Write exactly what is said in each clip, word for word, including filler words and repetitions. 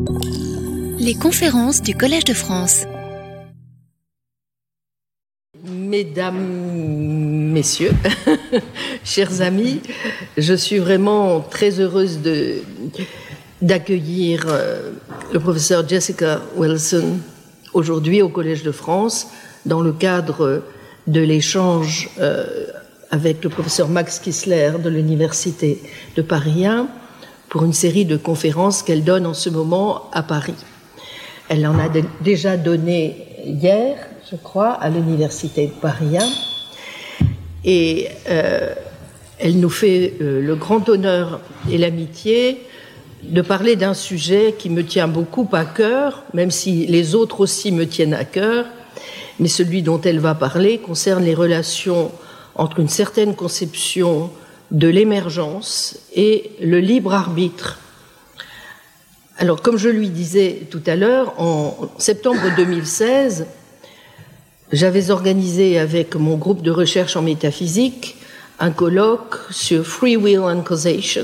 Les conférences du Collège de France. Mesdames, Messieurs, chers amis, je suis vraiment très heureuse de, d'accueillir euh, le professeur Jessica Wilson aujourd'hui au Collège de France dans le cadre de l'échange euh, avec le professeur Max Kissler de l'Université de Paris un pour une série de conférences qu'elle donne en ce moment à Paris. Elle en a de, déjà donné hier, je crois, à l'Université de Paris un. Et euh, elle nous fait euh, le grand honneur et l'amitié de parler d'un sujet qui me tient beaucoup à cœur, même si les autres aussi me tiennent à cœur, mais celui dont elle va parler concerne les relations entre une certaine conception de l'émergence et le libre arbitre. Alors, comme je lui disais tout à l'heure, en septembre deux mille seize, j'avais organisé avec mon groupe de recherche en métaphysique un colloque sur Free Will and Causation.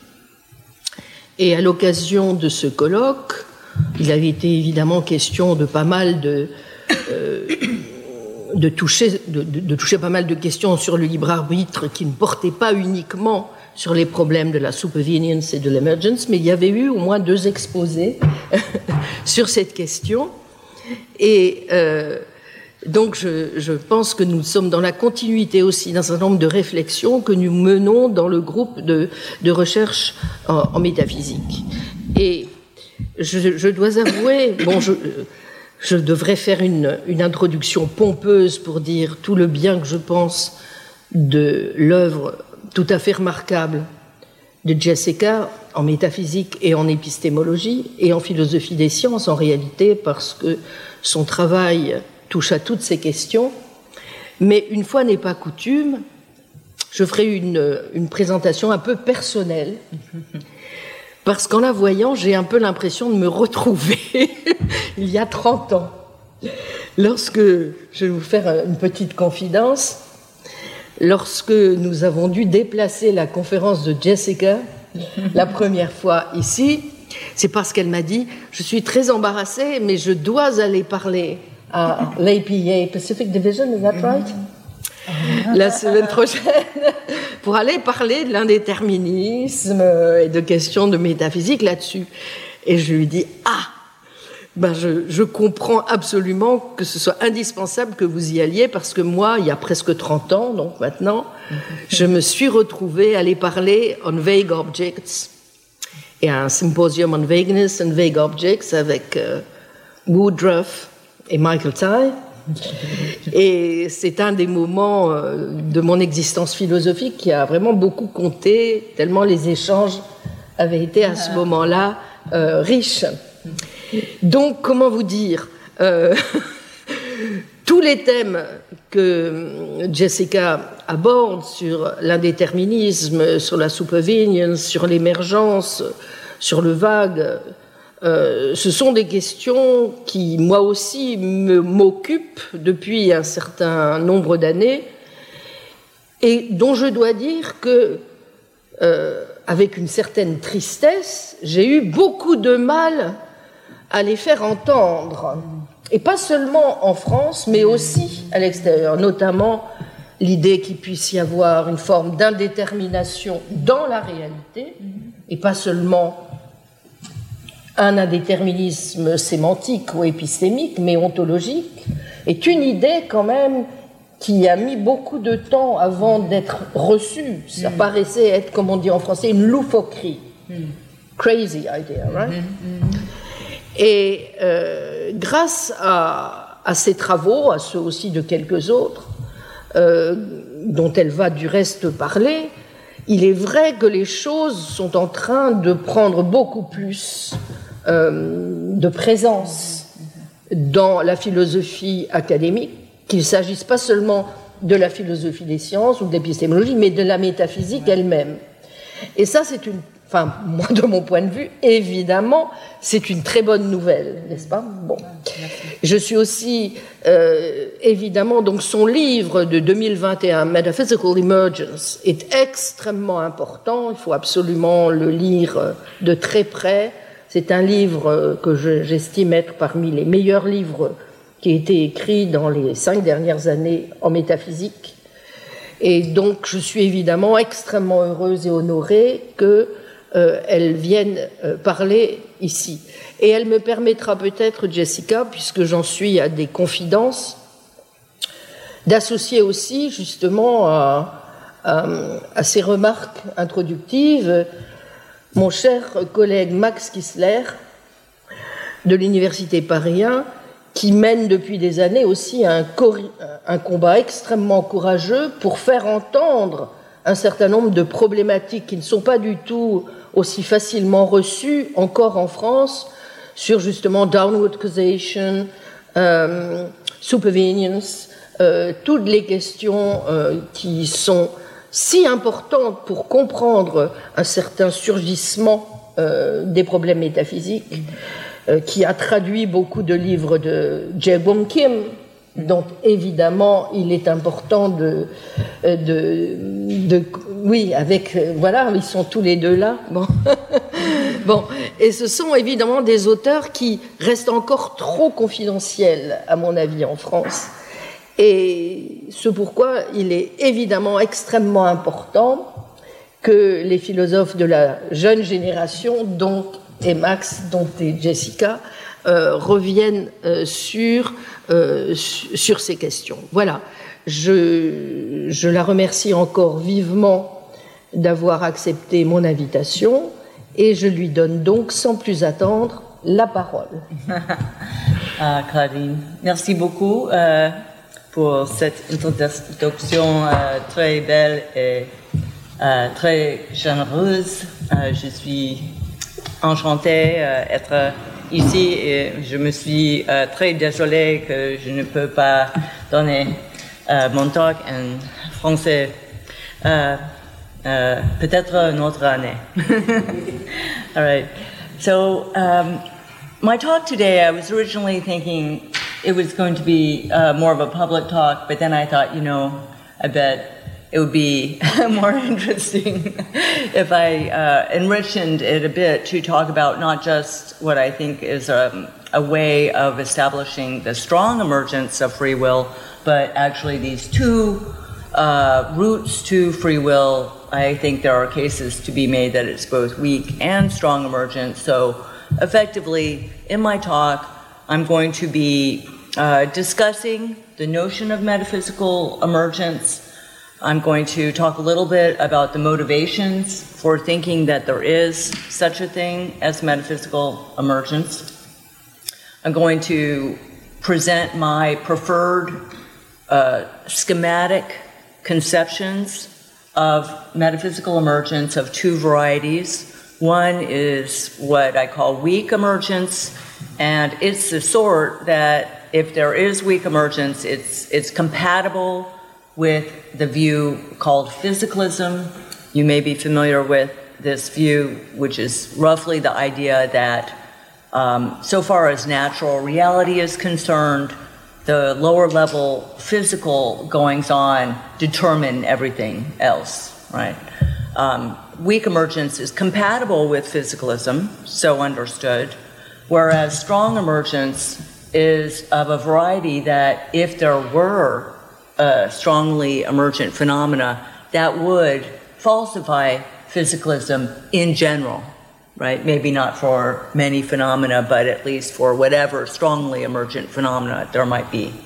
Et à l'occasion de ce colloque, il avait été évidemment question de pas mal de, euh, de, toucher, de, de, de toucher pas mal de questions sur le libre arbitre qui ne portaient pas uniquement sur les problèmes de la supervenience et de l'emergence, mais il y avait eu au moins deux exposés sur cette question. Et euh, donc je, je pense que nous sommes dans la continuité aussi d'un certain nombre de réflexions que nous menons dans le groupe de, de recherche en, en métaphysique. Et je, je dois avouer, bon, je, je devrais faire une, une introduction pompeuse pour dire tout le bien que je pense de l'œuvre tout à fait remarquable de Jessica en métaphysique et en épistémologie et en philosophie des sciences en réalité, parce que son travail touche à toutes ces questions. Mais une fois n'est pas coutume, je ferai une, une présentation un peu personnelle, parce qu'en la voyant, j'ai un peu l'impression de me retrouver il y a trente ans. Lorsque, je vais vous faire une petite confidence, lorsque nous avons dû déplacer la conférence de Jessica la première fois ici, c'est parce qu'elle m'a dit « Je suis très embarrassée, mais je dois aller parler à l'A P A, Pacific Division, is that right? La semaine prochaine, pour aller parler de l'indéterminisme et de questions de métaphysique là-dessus. » Et je lui dis « Ah, ben je, je comprends absolument que ce soit indispensable que vous y alliez, parce que moi, il y a presque trente ans, donc maintenant, je me suis retrouvée à aller parler on vague objects et à un symposium on vagueness and vague objects avec euh, Woodruff et Michael Tye. Et c'est un des moments euh, de mon existence philosophique qui a vraiment beaucoup compté, tellement les échanges avaient été à ce moment-là euh, riches. Donc, comment vous dire, euh, tous les thèmes que Jessica aborde sur l'indéterminisme, sur la supervenience, sur l'émergence, sur le vague, euh, ce sont des questions qui, moi aussi, me, m'occupent depuis un certain nombre d'années et dont je dois dire que, euh, avec une certaine tristesse, j'ai eu beaucoup de mal à les faire entendre, et pas seulement en France, mais aussi à l'extérieur, notamment l'idée qu'il puisse y avoir une forme d'indétermination dans la réalité, et pas seulement un indéterminisme sémantique ou épistémique, mais ontologique, est une idée quand même qui a mis beaucoup de temps avant d'être reçue. Ça mm. paraissait être, comme on dit en français, une loufoquerie. Mm. Crazy idea, right? Mm-hmm. Et euh, grâce à, à ces travaux, à ceux aussi de quelques autres, euh, dont elle va du reste parler, il est vrai que les choses sont en train de prendre beaucoup plus euh, de présence dans la philosophie académique, qu'il ne s'agisse pas seulement de la philosophie des sciences ou de l'épistémologie, mais de la métaphysique elle-même. Et ça, c'est une Enfin, moi, de mon point de vue, évidemment, c'est une très bonne nouvelle, n'est-ce pas? Bon. Je suis aussi, euh, évidemment, donc son livre de deux mille vingt et un, Metaphysical Emergence, est extrêmement important. Il faut absolument le lire de très près. C'est un livre que j'estime être parmi les meilleurs livres qui a été écrit dans les cinq dernières années en métaphysique. Et donc, je suis évidemment extrêmement heureuse et honorée qu'elle euh, vienne euh, parler ici. Et elle me permettra peut-être, Jessica, puisque j'en suis à des confidences, d'associer aussi justement à, à, à ces remarques introductives mon cher collègue Max Kissler de l'Université Paris un, qui mène depuis des années aussi un, un combat extrêmement courageux pour faire entendre un certain nombre de problématiques qui ne sont pas du tout aussi facilement reçues encore en France, sur justement downward causation, euh, supervenience, euh, toutes les questions euh, qui sont si importantes pour comprendre un certain surgissement euh, des problèmes métaphysiques, euh, qui a traduit beaucoup de livres de Jae-Bom Kim, dont évidemment il est important de, de, de oui, avec, voilà, ils sont tous les deux là, bon. Bon, et ce sont évidemment des auteurs qui restent encore trop confidentiels, à mon avis, en France. Et c'est pourquoi il est évidemment extrêmement important que les philosophes de la jeune génération, dont et Max, dont et Jessica, euh, reviennent euh, sur, euh, sur ces questions. Voilà, je, je la remercie encore vivement d'avoir accepté mon invitation. Et je lui donne donc, sans plus attendre, la parole. Ah, Claudine, merci beaucoup euh, pour cette introduction euh, très belle et euh, très généreuse. Euh, je suis enchantée d'être euh, ici et je me suis euh, très désolée que je ne peux pas donner euh, mon talk en français. Euh, Uh, peut-être une autre année. All right. So um, my talk today, I was originally thinking it was going to be uh, more of a public talk, but then I thought, you know, I bet it would be more interesting if I uh, enriched it a bit to talk about not just what I think is a, a way of establishing the strong emergence of free will, but actually these two uh, routes to free will. I think there are cases to be made that it's both weak and strong emergence. So effectively, in my talk, I'm going to be uh, discussing the notion of metaphysical emergence. I'm going to talk a little bit about the motivations for thinking that there is such a thing as metaphysical emergence. I'm going to present my preferred uh, schematic conceptions of metaphysical emergence of two varieties. One is what I call weak emergence, and it's the sort that if there is weak emergence, it's, it's compatible with the view called physicalism. You may be familiar with this view, which is roughly the idea that um, so far as natural reality is concerned, the lower level physical goings-on determine everything else, right? Um, weak emergence is compatible with physicalism, so understood, whereas strong emergence is of a variety that if there were uh, strongly emergent phenomena, that would falsify physicalism in general, right? Maybe not for many phenomena, but at least for whatever strongly emergent phenomena there might be.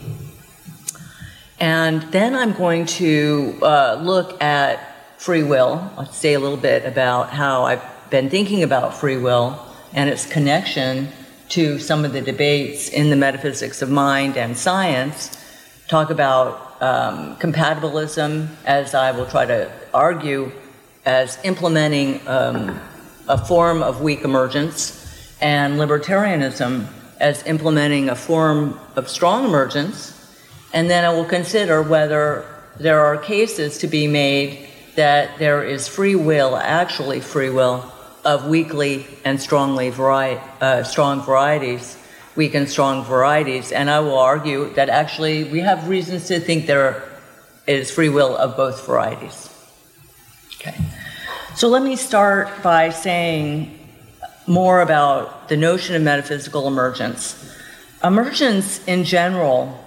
And then I'm going to uh, look at free will. I'll say a little bit about how I've been thinking about free will and its connection to some of the debates in the metaphysics of mind and science. Talk about um, compatibilism, as I will try to argue, as implementing um, a form of weak emergence, and libertarianism as implementing a form of strong emergence. And then I will consider whether there are cases to be made that there is free will, actually free will, of weakly and strongly vari- uh, strong varieties, weak and strong varieties. And I will argue that actually we have reasons to think there is free will of both varieties. Okay. So let me start by saying more about the notion of metaphysical emergence. Emergence in general,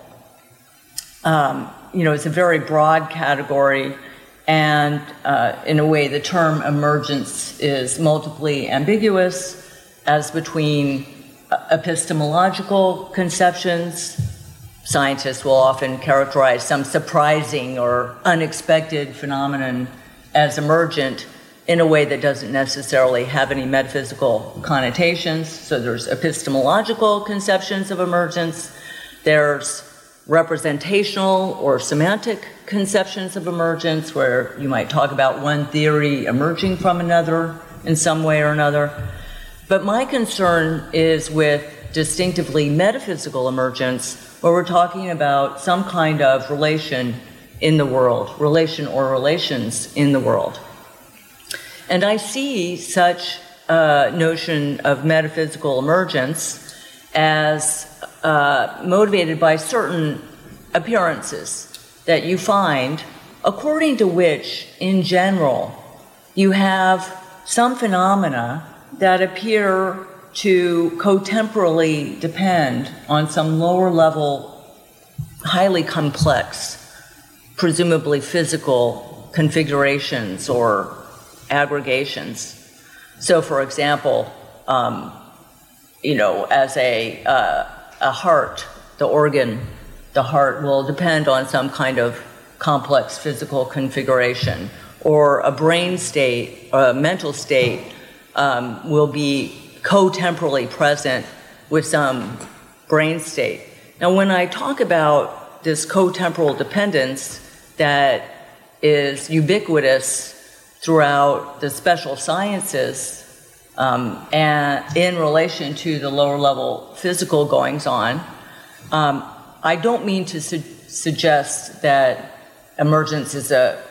um, you know, it's a very broad category, and uh, in a way, the term emergence is multiply ambiguous, as between epistemological conceptions. Scientists will often characterize some surprising or unexpected phenomenon as emergent in a way that doesn't necessarily have any metaphysical connotations. So there's epistemological conceptions of emergence, there's representational or semantic conceptions of emergence, where you might talk about one theory emerging from another in some way or another. But my concern is with distinctively metaphysical emergence, where we're talking about some kind of relation in the world, relation or relations in the world. And I see such a notion of metaphysical emergence as uh, motivated by certain appearances that you find, according to which, in general, you have some phenomena that appear to cotemporally depend on some lower level, highly complex, presumably physical configurations or aggregations. So, for example, um, you know, as a, uh, a heart, the organ, the heart will depend on some kind of complex physical configuration, or a brain state, a mental state um, will be cotemporally present with some brain state. Now, when I talk about this cotemporal dependence that is ubiquitous throughout the special sciences um, and in relation to the lower level physical goings on, um, I don't mean to su- suggest that emergence is a,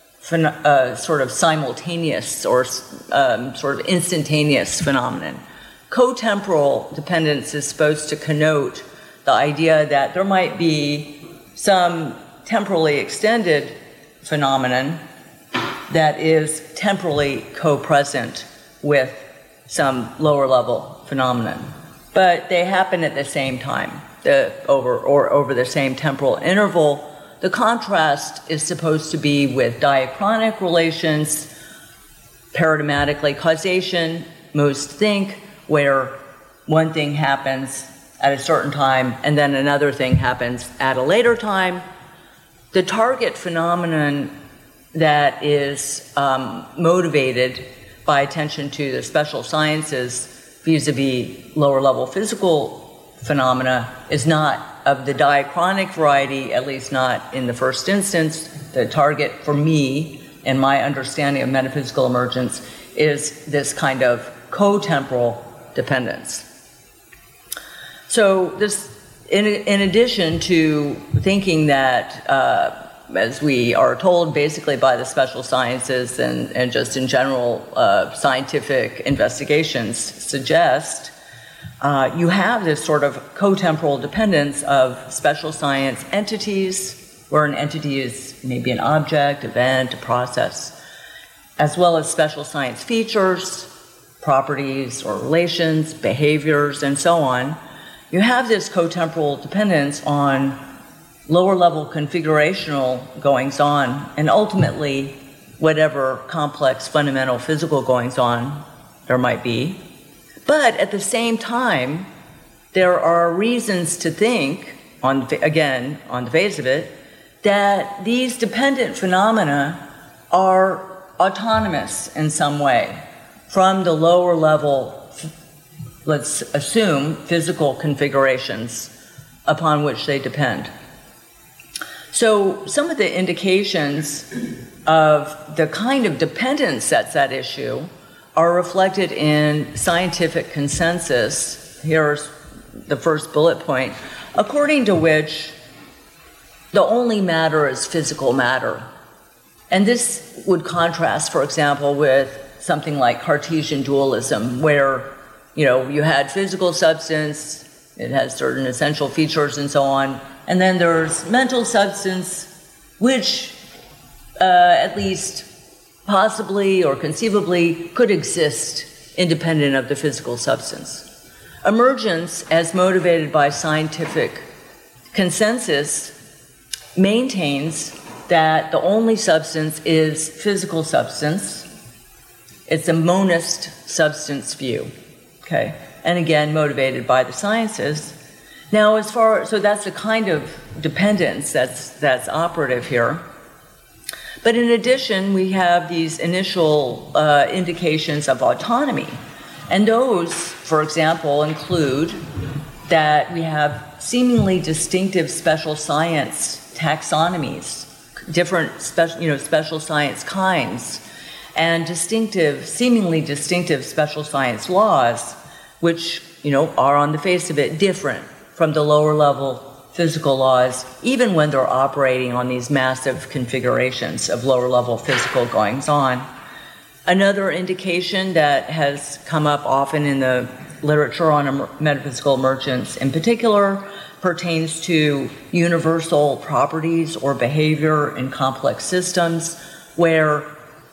a sort of simultaneous or um, sort of instantaneous phenomenon. Cotemporal dependence is supposed to connote the idea that there might be some temporally extended phenomenon that is temporally co-present with some lower level phenomenon. But they happen at the same time, the, over, or over the same temporal interval. The contrast is supposed to be with diachronic relations, paradigmatically causation, most think, where one thing happens at a certain time and then another thing happens at a later time. The target phenomenon that is um, motivated by attention to the special sciences vis-a-vis lower level physical phenomena is not of the diachronic variety, at least not in the first instance. The target for me and my understanding of metaphysical emergence is this kind of cotemporal dependence. So this, in, in addition to thinking that, uh, as we are told basically by the special sciences and, and just in general uh, scientific investigations suggest, uh, you have this sort of cotemporal dependence of special science entities, where an entity is maybe an object, event, a process, as well as special science features, properties or relations, behaviors, and so on. You have this cotemporal dependence on lower level configurational goings on, and ultimately whatever complex fundamental physical goings on there might be. But at the same time, there are reasons to think, on again, on the face of it, that these dependent phenomena are autonomous in some way from the lower level, let's assume, physical configurations upon which they depend. So some of the indications of the kind of dependence that's at issue are reflected in scientific consensus. Here's the first bullet point, according to which the only matter is physical matter. And this would contrast, for example, with something like Cartesian dualism, where, you know, you had physical substance, it has certain essential features and so on, and then there's mental substance, which uh, at least possibly or conceivably could exist independent of the physical substance. Emergence, as motivated by scientific consensus, maintains that the only substance is physical substance. It's a monist substance view, okay? And again, motivated by the sciences. Now, as far, so that's the kind of dependence that's, that's operative here. But in addition, we have these initial uh, indications of autonomy. And those, for example, include that we have seemingly distinctive special science taxonomies, different special, you know, special science kinds, and distinctive, seemingly distinctive special science laws, which, you know, are on the face of it different from the lower level physical laws, even when they're operating on these massive configurations of lower level physical goings on. Another indication that has come up often in the literature on metaphysical emergence in particular pertains to universal properties or behavior in complex systems where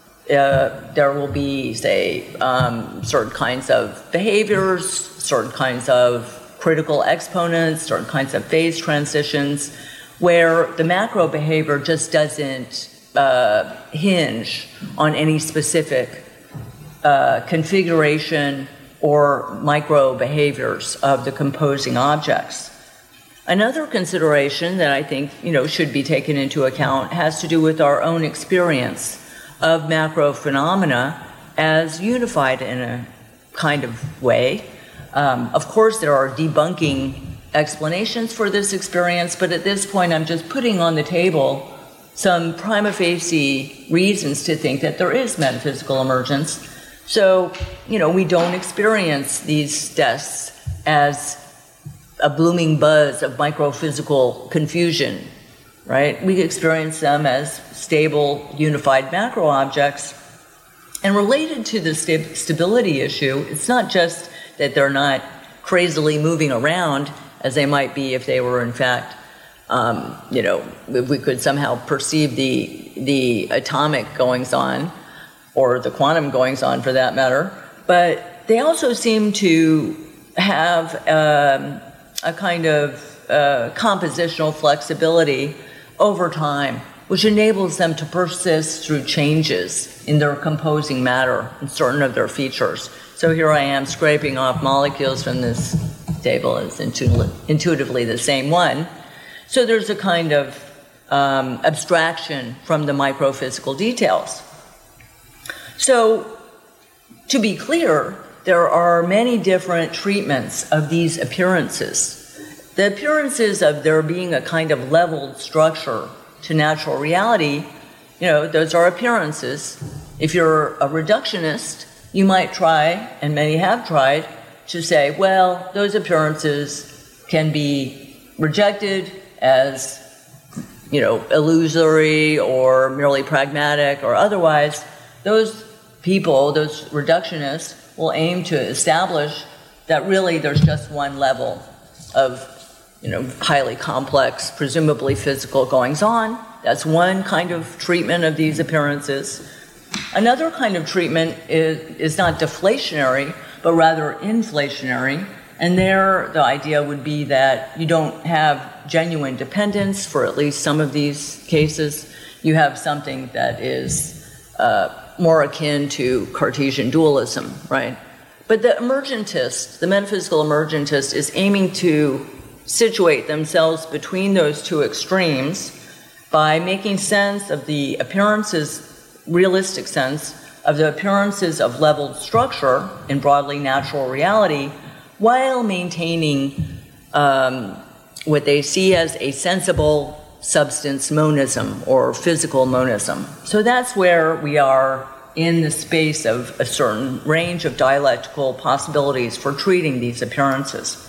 uh, there will be, say, um, certain kinds of behaviors, certain kinds of critical exponents, certain kinds of phase transitions, where the macro behavior just doesn't uh, hinge on any specific uh, configuration or micro behaviors of the composing objects. Another consideration that I think, you know, should be taken into account has to do with our own experience of macro phenomena as unified in a kind of way. Um, of course, there are debunking explanations for this experience, but at this point, I'm just putting on the table some prima facie reasons to think that there is metaphysical emergence. So, you know, we don't experience these tests as a blooming buzz of microphysical confusion, right? We experience them as stable, unified macro objects. And related to the st- stability issue, it's not just that they're not crazily moving around as they might be if they were in fact, um, you know, if we could somehow perceive the, the atomic goings-on, or the quantum goings-on for that matter, but they also seem to have um, a kind of uh, compositional flexibility over time, which enables them to persist through changes in their composing matter and certain of their features. So here I am scraping off molecules from this table as intu- intuitively the same one. So there's a kind of um, abstraction from the microphysical details. So to be clear, there are many different treatments of these appearances. The appearances of there being a kind of leveled structure to natural reality, you know, those are appearances. If you're a reductionist, you might try, and many have tried, to say, well, those appearances can be rejected as, you know, illusory or merely pragmatic or otherwise. Those people, those reductionists, will aim to establish that really there's just one level of, you know, highly complex, presumably physical goings-on. That's one kind of treatment of these appearances. Another kind of treatment is, is not deflationary, but rather inflationary. And there, the idea would be that you don't have genuine dependence for at least some of these cases. You have something that is uh, more akin to Cartesian dualism, right? But the emergentist, the metaphysical emergentist, is aiming to situate themselves between those two extremes by making sense of the appearances, realistic sense, of the appearances of leveled structure in broadly natural reality, while maintaining um, what they see as a sensible substance monism or physical monism. So that's where we are in the space of a certain range of dialectical possibilities for treating these appearances.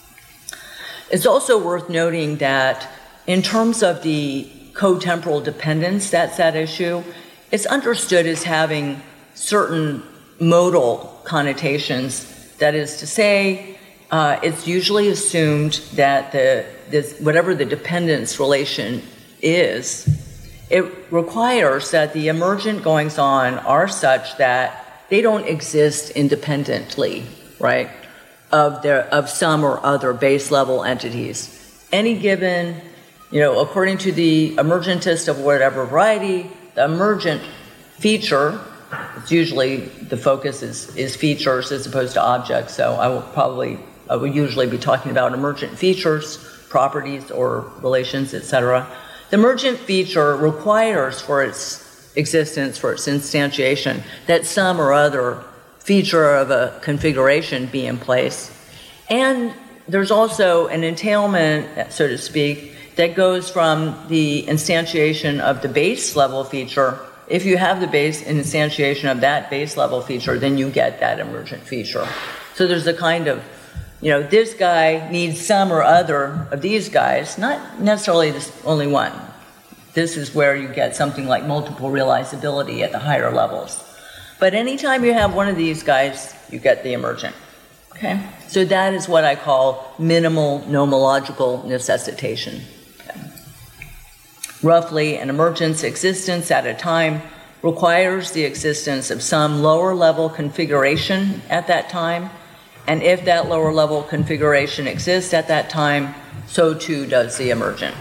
It's also worth noting that in terms of the co-temporal dependence that's at issue, it's understood as having certain modal connotations. That is to say, uh, it's usually assumed that the this, whatever the dependence relation is, it requires that the emergent goings-on are such that they don't exist independently, right? of, their, of some or other base level entities. Any given, you know, according to the emergentist of whatever variety, the emergent feature, it's usually the focus is, is features as opposed to objects, so I will probably, I will usually be talking about emergent features, properties or relations, et cetera. The emergent feature requires for its existence, for its instantiation, that some or other feature of a configuration be in place. And there's also an entailment, so to speak, that goes from the instantiation of the base level feature. If you have the base instantiation of that base level feature, then you get that emergent feature. So there's a kind of, you know, this guy needs some or other of these guys, not necessarily this only one. This is where you get something like multiple realizability at the higher levels. But anytime you have one of these guys, you get the emergent. Okay? So that is what I call minimal nomological necessitation. Okay. Roughly, an emergent's existence at a time requires the existence of some lower level configuration at that time, and if that lower level configuration exists at that time, so too does the emergent.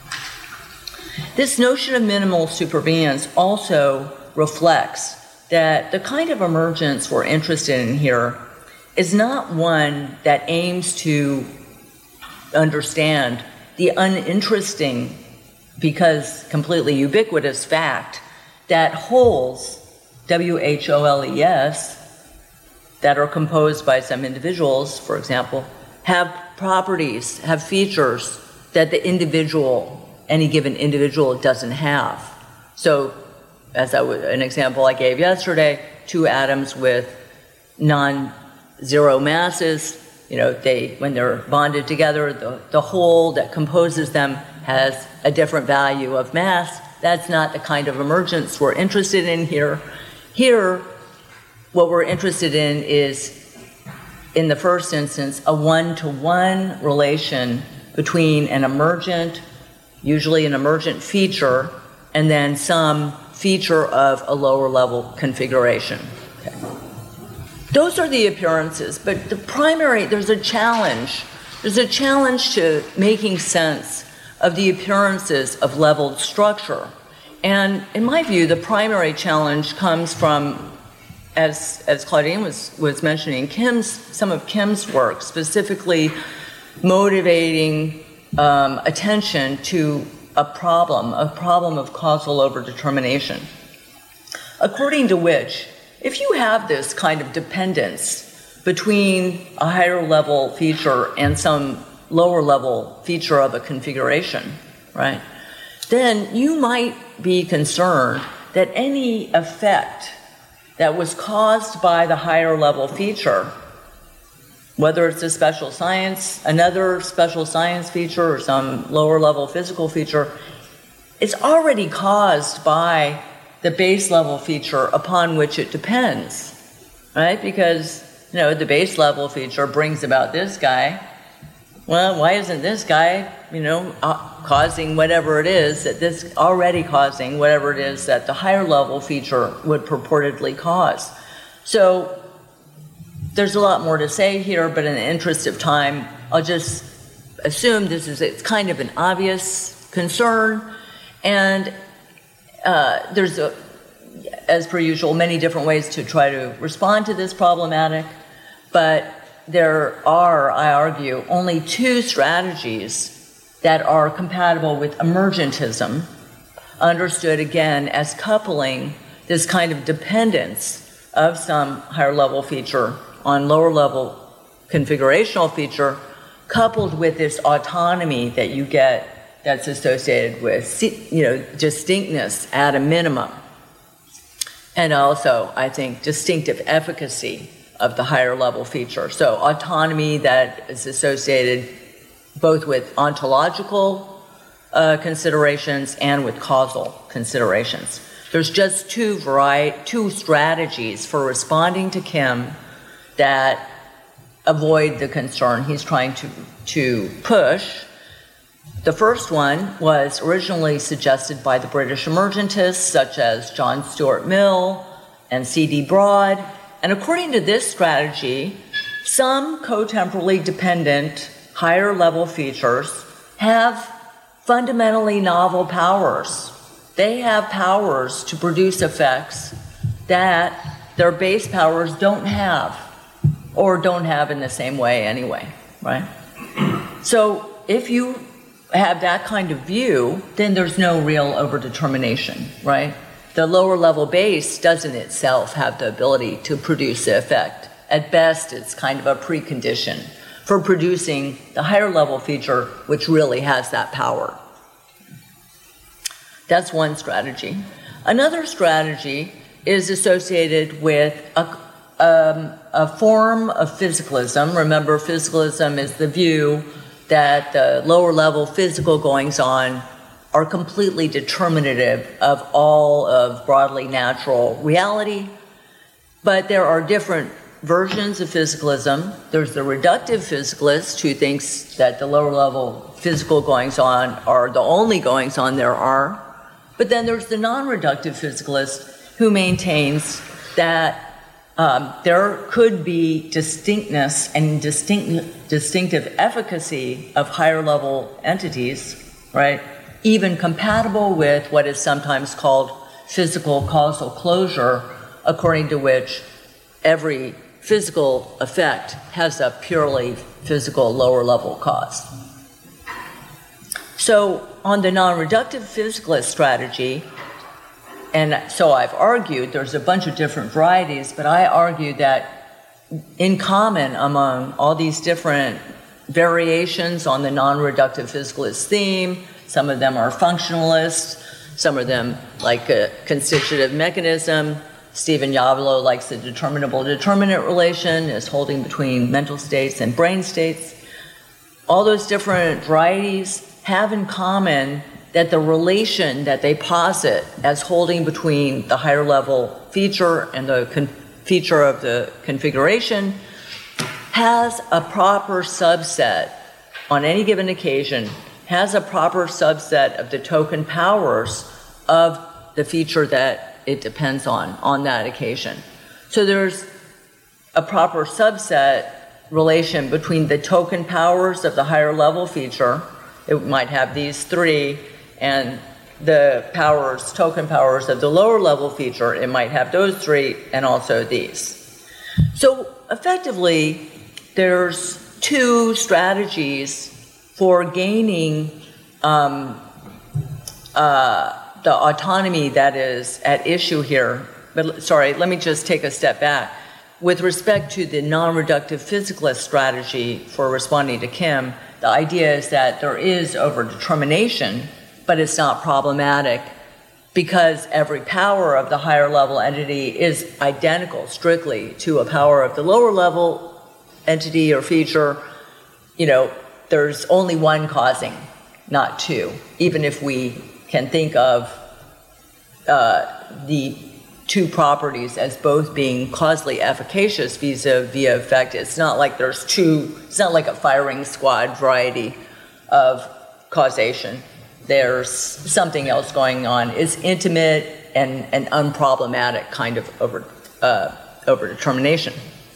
This notion of minimal supervenience also reflects that the kind of emergence we're interested in here is not one that aims to understand the uninteresting, because completely ubiquitous fact that wholes, W H O L E S, that are composed by some individuals, for example, have properties, have features that the individual, any given individual doesn't have. So, as I w an example I gave yesterday, two atoms with non-zero masses, you know, they, when they're bonded together, the, the whole that composes them has a different value of mass. That's not the kind of emergence we're interested in here. Here, what we're interested in is, in the first instance, a one-to-one relation between an emergent, usually an emergent feature, and then some feature of a lower level configuration. Okay. Those are the appearances, but the primary, there's a challenge. There's a challenge to making sense of the appearances of leveled structure. And in my view, the primary challenge comes from, as, as Claudine was, was mentioning, Kim's, some of Kim's work, specifically motivating um, attention to a problem, a problem of causal overdetermination, according to which, if you have this kind of dependence between a higher level feature and some lower level feature of a configuration, right, then you might be concerned that any effect that was caused by the higher level feature, whether it's a special science, another special science feature, or some lower level physical feature, it's already caused by the base level feature upon which it depends, right? Because, you know, the base level feature brings about this guy. Well, why isn't this guy, you know, uh, causing whatever it is that this, already causing whatever it is that the higher level feature would purportedly cause? So there's a lot more to say here, but in the interest of time, I'll just assume this is, it's kind of an obvious concern, and uh, there's, a, as per usual, many different ways to try to respond to this problematic, but there are, I argue, only two strategies that are compatible with emergentism, understood again as coupling this kind of dependence of some higher level feature on lower level configurational feature, coupled with this autonomy that you get that's associated with, you know, distinctness at a minimum. And also, I think, distinctive efficacy of the higher level feature. So autonomy that is associated both with ontological uh, considerations and with causal considerations. There's just two variety, two strategies for responding to Kim that avoid the concern he's trying to, to push. The first one was originally suggested by the British emergentists, such as John Stuart Mill and C D Broad. And according to this strategy, some cotemporally dependent higher level features have fundamentally novel powers. They have powers to produce effects that their base powers don't have, or don't have in the same way anyway, right? So if you have that kind of view, then there's no real overdetermination, right? The lower level base doesn't itself have the ability to produce the effect. At best, it's kind of a precondition for producing the higher level feature, which really has that power. That's one strategy. Another strategy is associated with a, um, a form of physicalism. Remember, physicalism is the view that the lower level physical goings-on are completely determinative of all of broadly natural reality. But there are different versions of physicalism. There's the reductive physicalist who thinks that the lower level physical goings-on are the only goings-on there are. But then there's the non-reductive physicalist who maintains that um, there could be distinctness and distinct, distinctive efficacy of higher level entities, right? Even compatible with what is sometimes called physical causal closure, according to which every physical effect has a purely physical lower level cause. So on the non-reductive physicalist strategy, and so I've argued, there's a bunch of different varieties, but I argue that in common among all these different variations on the non-reductive physicalist theme, some of them are functionalist, some of them like a constitutive mechanism. Stephen Yavolo likes the determinable determinant relation as holding between mental states and brain states. All those different varieties have in common that the relation that they posit as holding between the higher level feature and the con- feature of the configuration has a proper subset on any given occasion, has a proper subset of the token powers of the feature that it depends on on that occasion. So there's a proper subset relation between the token powers of the higher level feature. It might have these three, and the powers, token powers of the lower level feature, it might have those three and also these. So effectively, there's two strategies for gaining um, uh, the autonomy that is at issue here. But sorry, let me just take a step back. With respect to the non-reductive physicalist strategy for responding to Kim, the idea is that there is overdetermination, but it's not problematic because every power of the higher level entity is identical strictly to a power of the lower level entity or feature. You know, there's only one causing, not two, even if we can think of uh, the two properties as both being causally efficacious vis-a-vis effect. It's not like there's two, it's not like a firing squad variety of causation. There's something else going on. It's intimate and, and unproblematic kind of over, uh, overdetermination.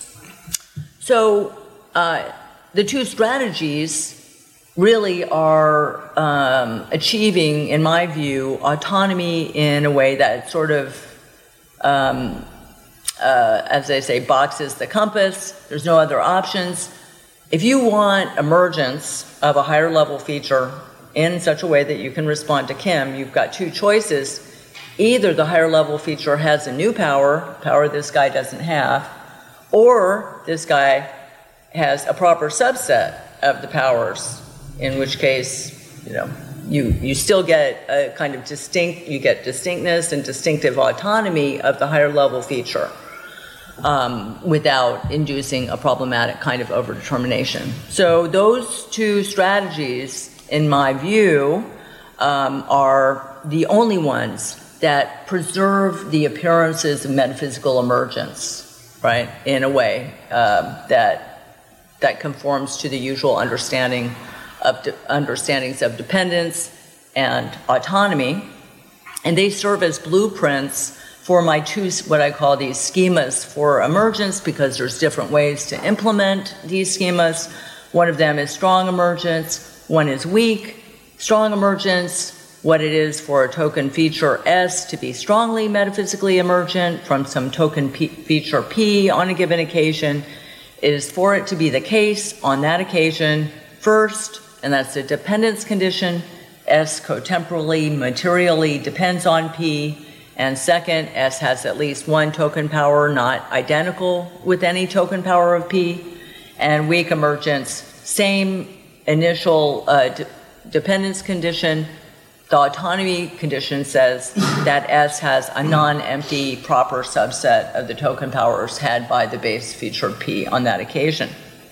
So uh, the two strategies really are um, achieving, in my view, autonomy in a way that sort of Um, uh, as they say, boxes the compass. There's no other options. If you want emergence of a higher level feature in such a way that you can respond to Kim, you've got two choices. Either the higher level feature has a new power, power this guy doesn't have, or this guy has a proper subset of the powers, in which case, you know, You, you still get a kind of distinct, you get distinctness and distinctive autonomy of the higher level feature um, without inducing a problematic kind of overdetermination. So those two strategies, in my view, um, are the only ones that preserve the appearances of metaphysical emergence, right, in a way uh, that, that conforms to the usual understanding of de- understandings of dependence and autonomy, and they serve as blueprints for my two, what I call these schemas for emergence, because there's different ways to implement these schemas. One of them is strong emergence, one is weak. Strong emergence, what it is for a token feature S to be strongly metaphysically emergent from some token P feature P on a given occasion, is for it to be the case on that occasion first, and that's the dependence condition. S cotemporally, materially depends on P. And second, S has at least one token power not identical with any token power of P. And weak emergence, same initial uh, de dependence condition. The autonomy condition says that S has a non-empty proper subset of the token powers had by the base feature P on that occasion.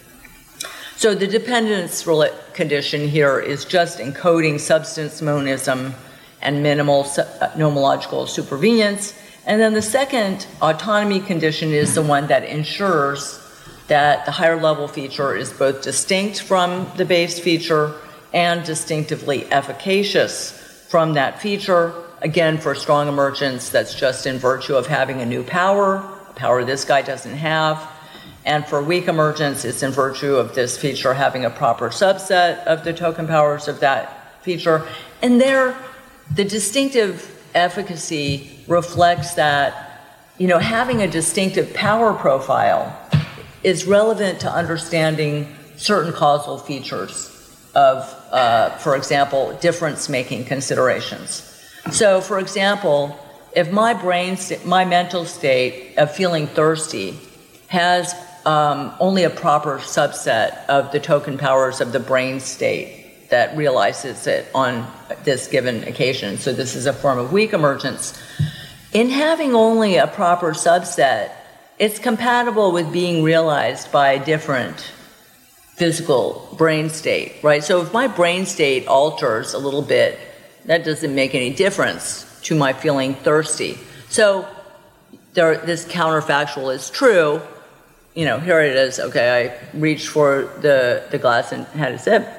So the dependence condition here is just encoding substance monism and minimal nomological supervenience. And then the second autonomy condition is the one that ensures that the higher level feature is both distinct from the base feature and distinctively efficacious from that feature. Again, for strong emergence, that's just in virtue of having a new power, a power this guy doesn't have. And for weak emergence, it's in virtue of this feature having a proper subset of the token powers of that feature. And there, the distinctive efficacy reflects that, you know, having a distinctive power profile is relevant to understanding certain causal features of, uh, for example, difference-making considerations. So, for example, if my brain, my mental state of feeling thirsty has um, only a proper subset of the token powers of the brain state that realizes it on this given occasion, so this is a form of weak emergence, in having only a proper subset, it's compatible with being realized by a different physical brain state, right? So if my brain state alters a little bit, that doesn't make any difference to my feeling thirsty. So there, this counterfactual is true. You know, here it is, okay, I reached for the, the glass and had a sip.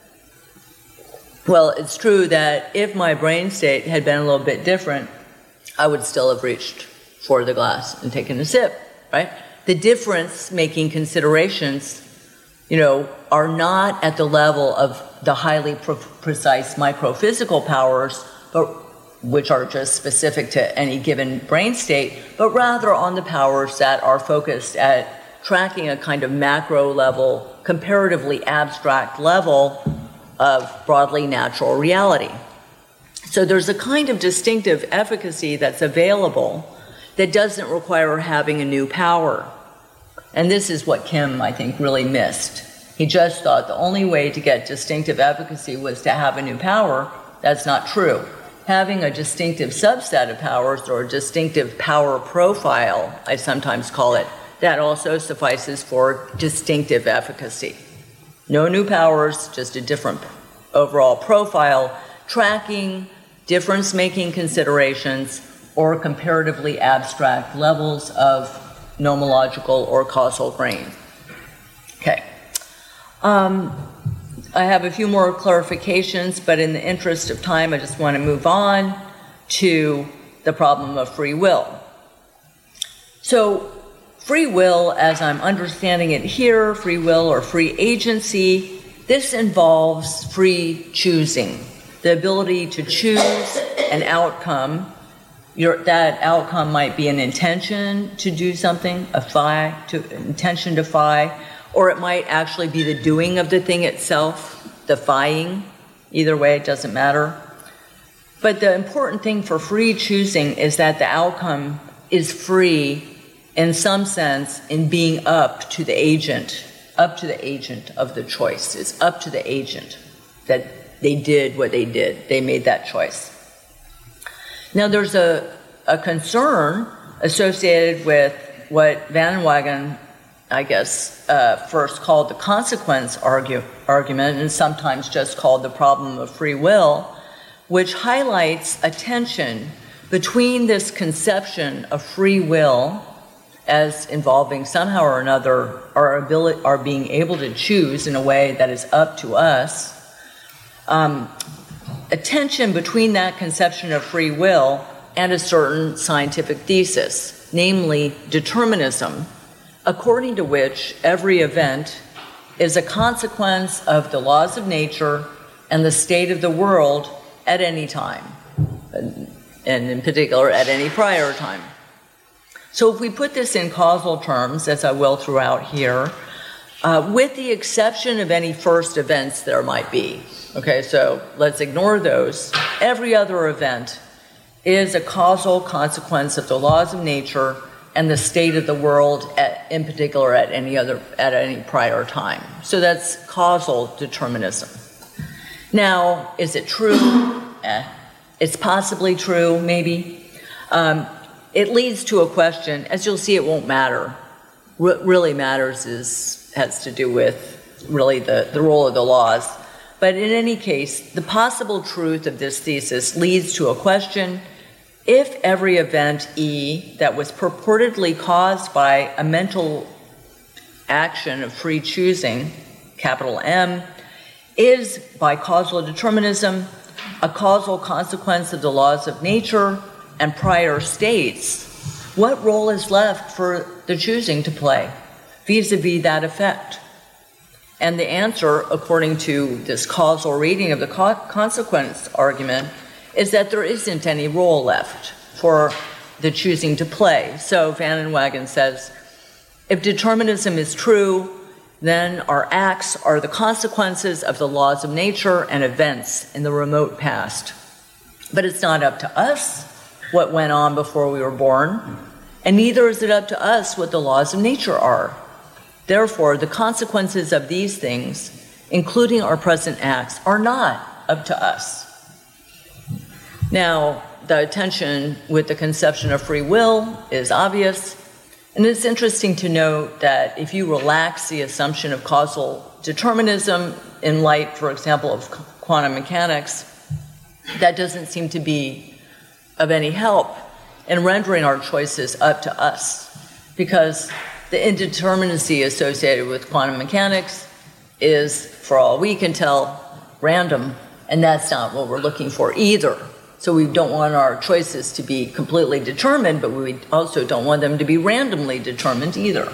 Well, it's true that if my brain state had been a little bit different, I would still have reached for the glass and taken a sip, right? The difference-making considerations, you know, are not at the level of the highly pre precise microphysical powers, but which are just specific to any given brain state, but rather on the powers that are focused at tracking a kind of macro level, comparatively abstract level of broadly natural reality. So there's a kind of distinctive efficacy that's available that doesn't require having a new power. And this is what Kim, I think, really missed. He just thought the only way to get distinctive efficacy was to have a new power. That's not true. Having a distinctive subset of powers, or a distinctive power profile, I sometimes call it, that also suffices for distinctive efficacy. No new powers, just a different overall profile, tracking difference-making considerations or comparatively abstract levels of nomological or causal grain. Okay. Um, I have a few more clarifications, but in the interest of time, I just want to move on to the problem of free will. So, free will, as I'm understanding it here, free will or free agency, this involves free choosing, the ability to choose an outcome. Your, that outcome might be an intention to do something, a phi, to, intention to phi, or it might actually be the doing of the thing itself, the phi-ing. Either way, it doesn't matter. But the important thing for free choosing is that the outcome is free in some sense in being up to the agent, up to the agent of the choice. It's up to the agent that they did what they did. They made that choice. Now, there's a, a concern associated with what Van Wagen, I guess, uh, first called the consequence argue, argument, and sometimes just called the problem of free will, which highlights a tension between this conception of free will as involving somehow or another our ability, our being able to choose in a way that is up to us, um, a tension between that conception of free will and a certain scientific thesis, namely determinism, according to which every event is a consequence of the laws of nature and the state of the world at any time, and in particular at any prior time. So if we put this in causal terms, as I will throughout here, uh, with the exception of any first events there might be, okay, so let's ignore those, every other event is a causal consequence of the laws of nature and the state of the world, at, in particular at any other, at any prior time. So that's causal determinism. Now, is it true? Eh, it's possibly true, maybe. Um, it leads to a question. As you'll see, it won't matter. What really matters is has to do with really the, the role of the laws. But in any case, the possible truth of this thesis leads to a question. If every event E that was purportedly caused by a mental action of free choosing, capital M, is by causal determinism a causal consequence of the laws of nature and prior states, what role is left for the choosing to play vis-a-vis that effect? And the answer, according to this causal reading of the co- consequence argument, is that there isn't any role left for the choosing to play. So Van Inwagen says, if determinism is true, then our acts are the consequences of the laws of nature and events in the remote past. But it's not up to us what went on before we were born, and neither is it up to us what the laws of nature are. Therefore, the consequences of these things, including our present acts, are not up to us. Now, the tension with the conception of free will is obvious, and it's interesting to note that if you relax the assumption of causal determinism in light, for example, of quantum mechanics, that doesn't seem to be of any help in rendering our choices up to us, because the indeterminacy associated with quantum mechanics is, for all we can tell, random, and that's not what we're looking for either. So we don't want our choices to be completely determined, but we also don't want them to be randomly determined either.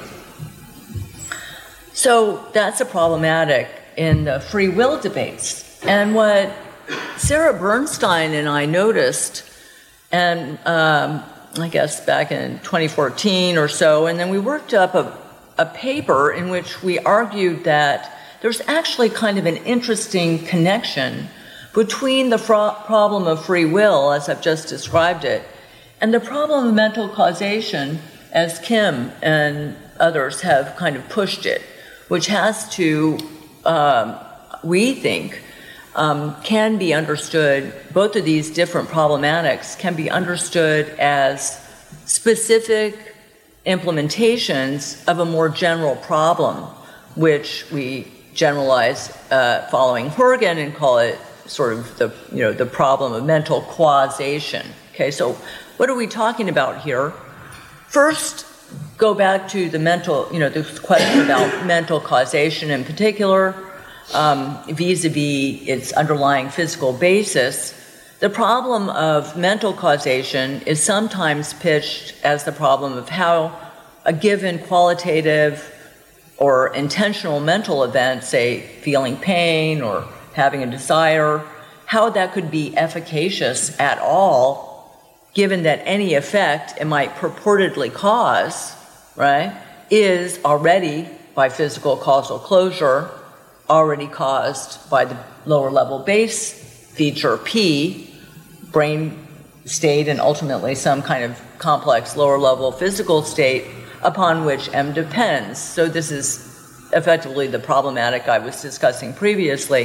So that's a problematic in the free will debates. And what Sarah Bernstein and I noticed, and um, I guess back in twenty fourteen or so, and then we worked up a, a paper in which we argued that there's actually kind of an interesting connection between the fro- problem of free will, as I've just described it, and the problem of mental causation, as Kim and others have kind of pushed it, which has to, um, we think, um, can be understood, both of these different problematics can be understood as specific implementations of a more general problem, which we generalize uh, following Horgan and call it sort of the, you know, the problem of mental causation. Okay, so what are we talking about here? First, go back to the mental, you know, the question about mental causation in particular, um, vis-a-vis its underlying physical basis. The problem of mental causation is sometimes pitched as the problem of how a given qualitative or intentional mental event, say feeling pain or having a desire, how that could be efficacious at all, given that any effect it might purportedly cause, right, is already, by physical causal closure, already caused by the lower level base feature P, brain state, and ultimately some kind of complex lower level physical state upon which M depends. So this is effectively the problematic I was discussing previously.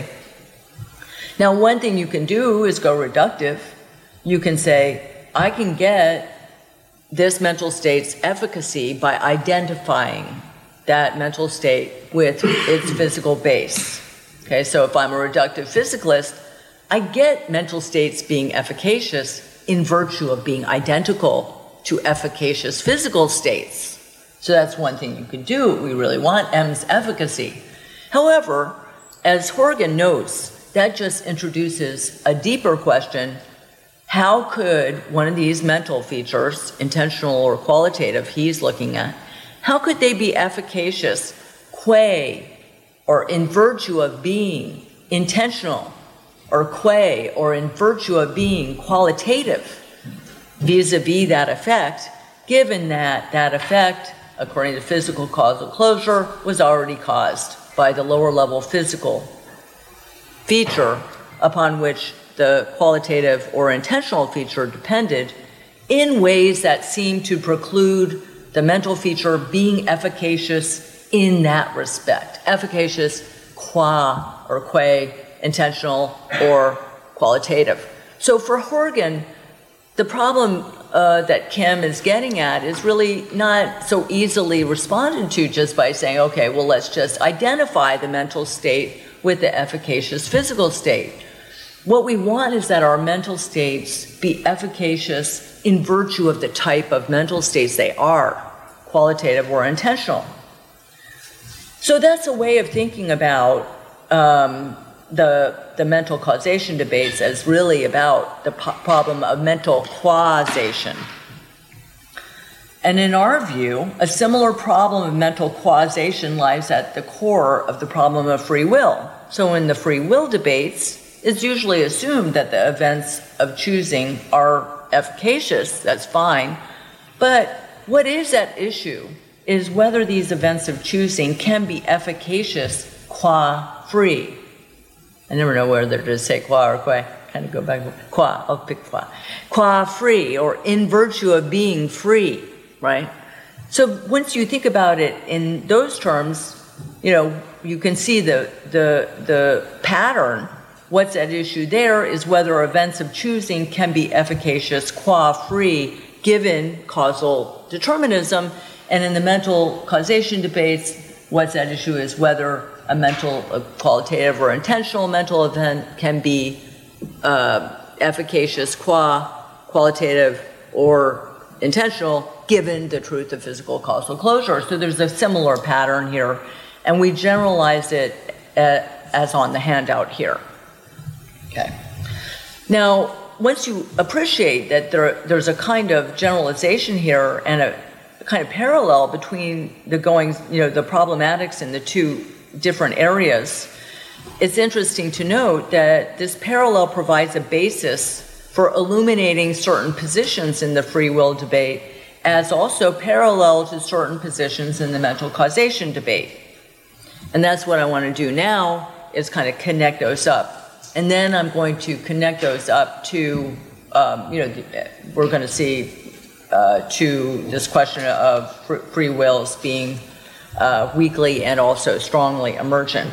Now, one thing you can do is go reductive. You can say, I can get this mental state's efficacy by identifying that mental state with its physical base. Okay, so if I'm a reductive physicalist, I get mental states being efficacious in virtue of being identical to efficacious physical states. So that's one thing you can do. We really want M's efficacy. However, as Horgan notes, that just introduces a deeper question. how could one of these mental features, intentional or qualitative, he's looking at, how could they be efficacious qua or in virtue of being intentional, or qua or in virtue of being qualitative vis-a-vis that effect, given that that effect, according to physical causal closure, was already caused by the lower level physical feature upon which the qualitative or intentional feature depended, in ways that seem to preclude the mental feature being efficacious in that respect. Efficacious qua or qua intentional or qualitative. So for Horgan, the problem uh, that Kim is getting at is really not so easily responded to just by saying, okay, well, let's just identify the mental state with the efficacious physical state. What we want is that our mental states be efficacious in virtue of the type of mental states they are, qualitative or intentional. So that's a way of thinking about um, the, the mental causation debates as really about the po- problem of mental causation. And in our view, a similar problem of mental causation lies at the core of the problem of free will. So in the free will debates, it's usually assumed that the events of choosing are efficacious, that's fine. But what is at issue is whether these events of choosing can be efficacious qua free. I never know whether to say qua or qua, kind of go back, qua, I'll pick qua. Qua free, or in virtue of being free, right? So once you think about it in those terms, you know, you can see the, the, the pattern. What's at issue there is whether events of choosing can be efficacious qua free given causal determinism. And in the mental causation debates, what's at issue is whether a mental, a qualitative or intentional mental event can be uh, efficacious qua qualitative or intentional given the truth of physical causal closure. So there's a similar pattern here, and we generalized it uh, as on the handout here. Okay. Now, once you appreciate that there, there's a kind of generalization here and a kind of parallel between the going, you know, the problematics in the two different areas, it's interesting to note that this parallel provides a basis for illuminating certain positions in the free will debate as also parallel to certain positions in the mental causation debate. And that's what I want to do now, is kind of connect those up. And then I'm going to connect those up to, um, you know, we're going to see uh, to this question of free wills being uh, weakly and also strongly emergent.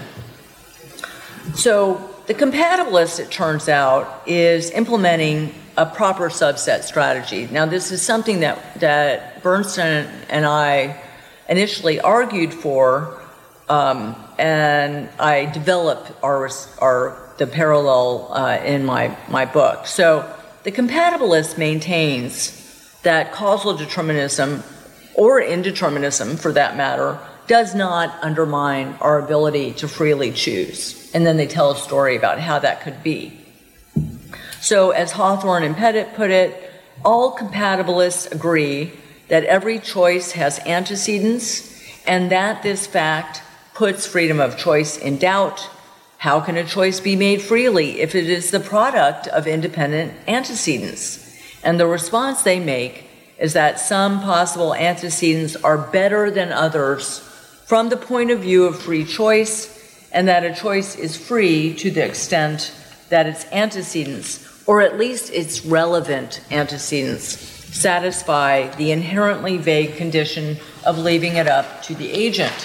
So the compatibilist, it turns out, is implementing a proper subset strategy. Now, this is something that, that Bernstein and I initially argued for, um, and I developed our, our the parallel uh, in my, my book. So the compatibilist maintains that causal determinism, or indeterminism for that matter, does not undermine our ability to freely choose. And then they tell a story about how that could be. So as Hawthorne and Pettit put it, all compatibilists agree that every choice has antecedents and that this fact puts freedom of choice in doubt. How can a choice be made freely if it is the product of independent antecedents? And the response they make is that some possible antecedents are better than others from the point of view of free choice, and that a choice is free to the extent that its antecedents, or at least its relevant antecedents, satisfy the inherently vague condition of leaving it up to the agent.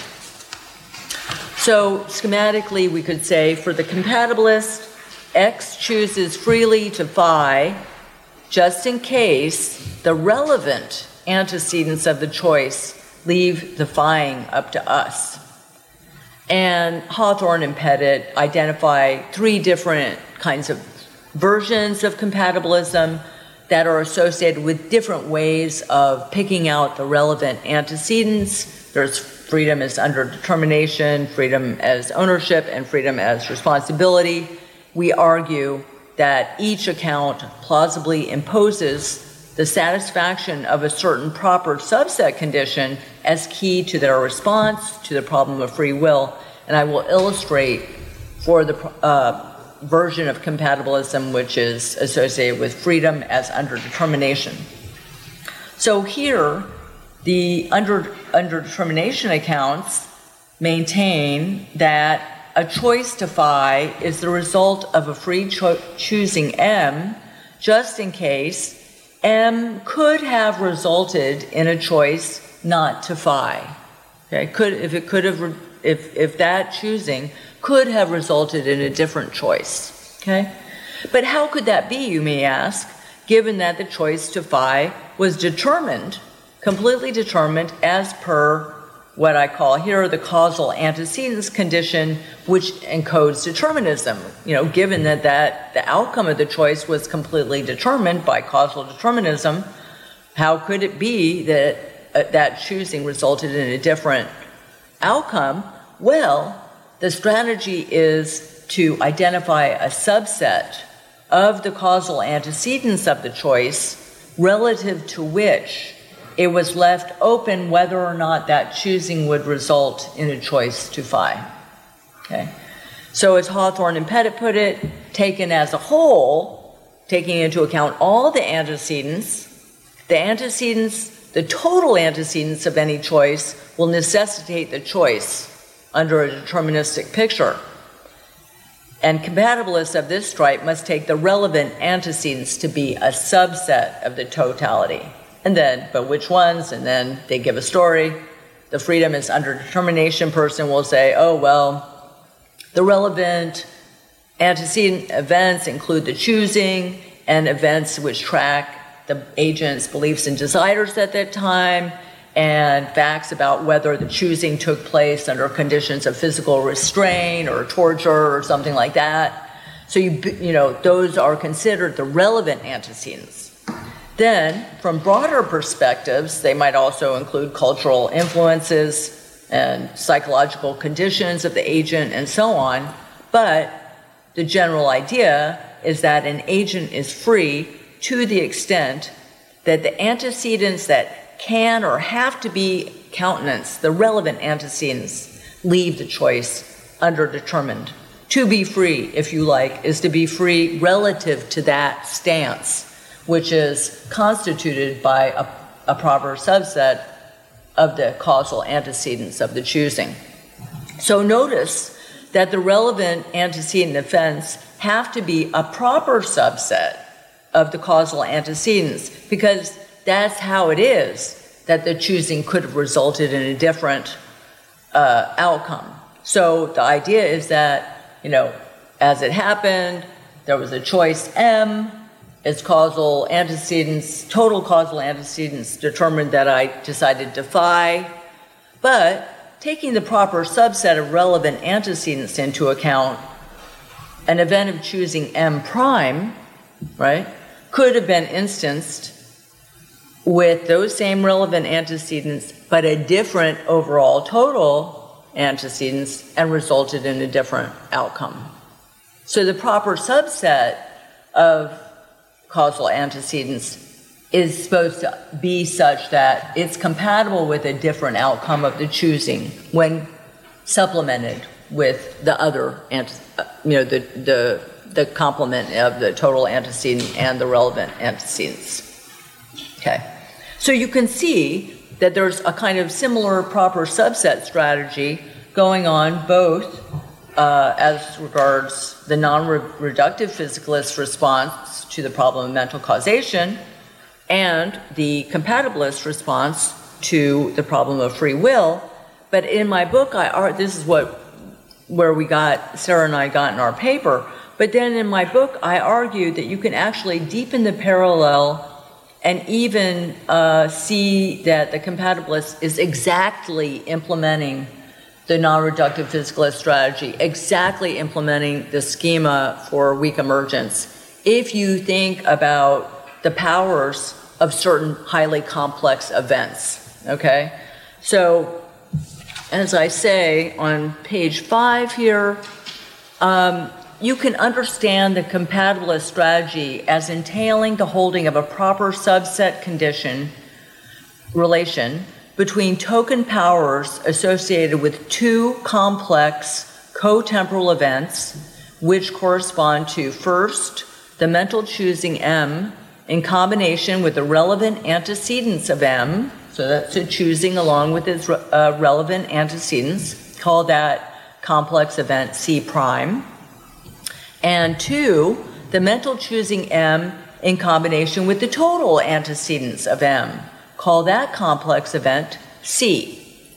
So schematically, we could say for the compatibilist, X chooses freely to phi just in case the relevant antecedents of the choice leave the phi-ing up to us. And Hawthorne and Pettit identify three different kinds of versions of compatibilism that are associated with different ways of picking out the relevant antecedents. There's freedom as under determination, freedom as ownership, and freedom as responsibility. We argue that each account plausibly imposes the satisfaction of a certain proper subset condition as key to their response to the problem of free will. And I will illustrate for the uh, version of compatibilism which is associated with freedom as underdetermination. So here, the under, underdetermination accounts maintain that a choice to phi is the result of a free cho choosing M, just in case M could have resulted in a choice not to phi. Okay, could if it could have if if that choosing could have resulted in a different choice. Okay, but how could that be, you may ask, given that the choice to phi was determined, completely determined, as per what I call here the causal antecedents condition, which encodes determinism. You know, given that, that the outcome of the choice was completely determined by causal determinism, how could it be that uh, that choosing resulted in a different outcome? Well, the strategy is to identify a subset of the causal antecedents of the choice relative to which it was left open whether or not that choosing would result in a choice to phi. Okay? So as Hawthorne and Pettit put it, taken as a whole, taking into account all the antecedents, the antecedents, the total antecedents of any choice will necessitate the choice under a deterministic picture. And compatibilists of this stripe must take the relevant antecedents to be a subset of the totality. And then, but which ones? And then they give a story. The freedom is under determination person will say, oh, well, the relevant antecedent events include the choosing and events which track the agent's beliefs and desires at that time, and facts about whether the choosing took place under conditions of physical restraint or torture or something like that. So, you, you know, those are considered the relevant antecedents. Then, from broader perspectives, they might also include cultural influences and psychological conditions of the agent and so on. But the general idea is that an agent is free to the extent that the antecedents that can or have to be countenanced, the relevant antecedents, leave the choice underdetermined. To be free, if you like, is to be free relative to that stance, which is constituted by a, a proper subset of the causal antecedents of the choosing. So notice that the relevant antecedent events have to be a proper subset of the causal antecedents, because that's how it is that the choosing could have resulted in a different uh, outcome. So the idea is that, you know, as it happened, there was a choice M, its causal antecedents, total causal antecedents determined that I decided to phi, but taking the proper subset of relevant antecedents into account, an event of choosing M prime, right, could have been instanced with those same relevant antecedents, but a different overall total antecedents, and resulted in a different outcome. So the proper subset of causal antecedents is supposed to be such that it's compatible with a different outcome of the choosing when supplemented with the other, you know, the, the, the complement of the total antecedent and the relevant antecedents. Okay. So you can see that there's a kind of similar proper subset strategy going on both uh, as regards the non-reductive physicalist response to the problem of mental causation and the compatibilist response to the problem of free will. But in my book, I are this is what where we got, Sarah and I got in our paper, but then in my book, I argued that you can actually deepen the parallel and even uh, see that the compatibilist is exactly implementing the non-reductive physicalist strategy, exactly implementing the schema for weak emergence. If you think about the powers of certain highly complex events, okay? So, as I say on page five here, um, you can understand the compatibilist strategy as entailing the holding of a proper subset condition relation between token powers associated with two complex co-temporal events, which correspond to, first, the mental choosing M in combination with the relevant antecedents of M, so that's a choosing along with its uh, relevant antecedents, call that complex event C prime, and two, the mental choosing M in combination with the total antecedents of M, call that complex event C.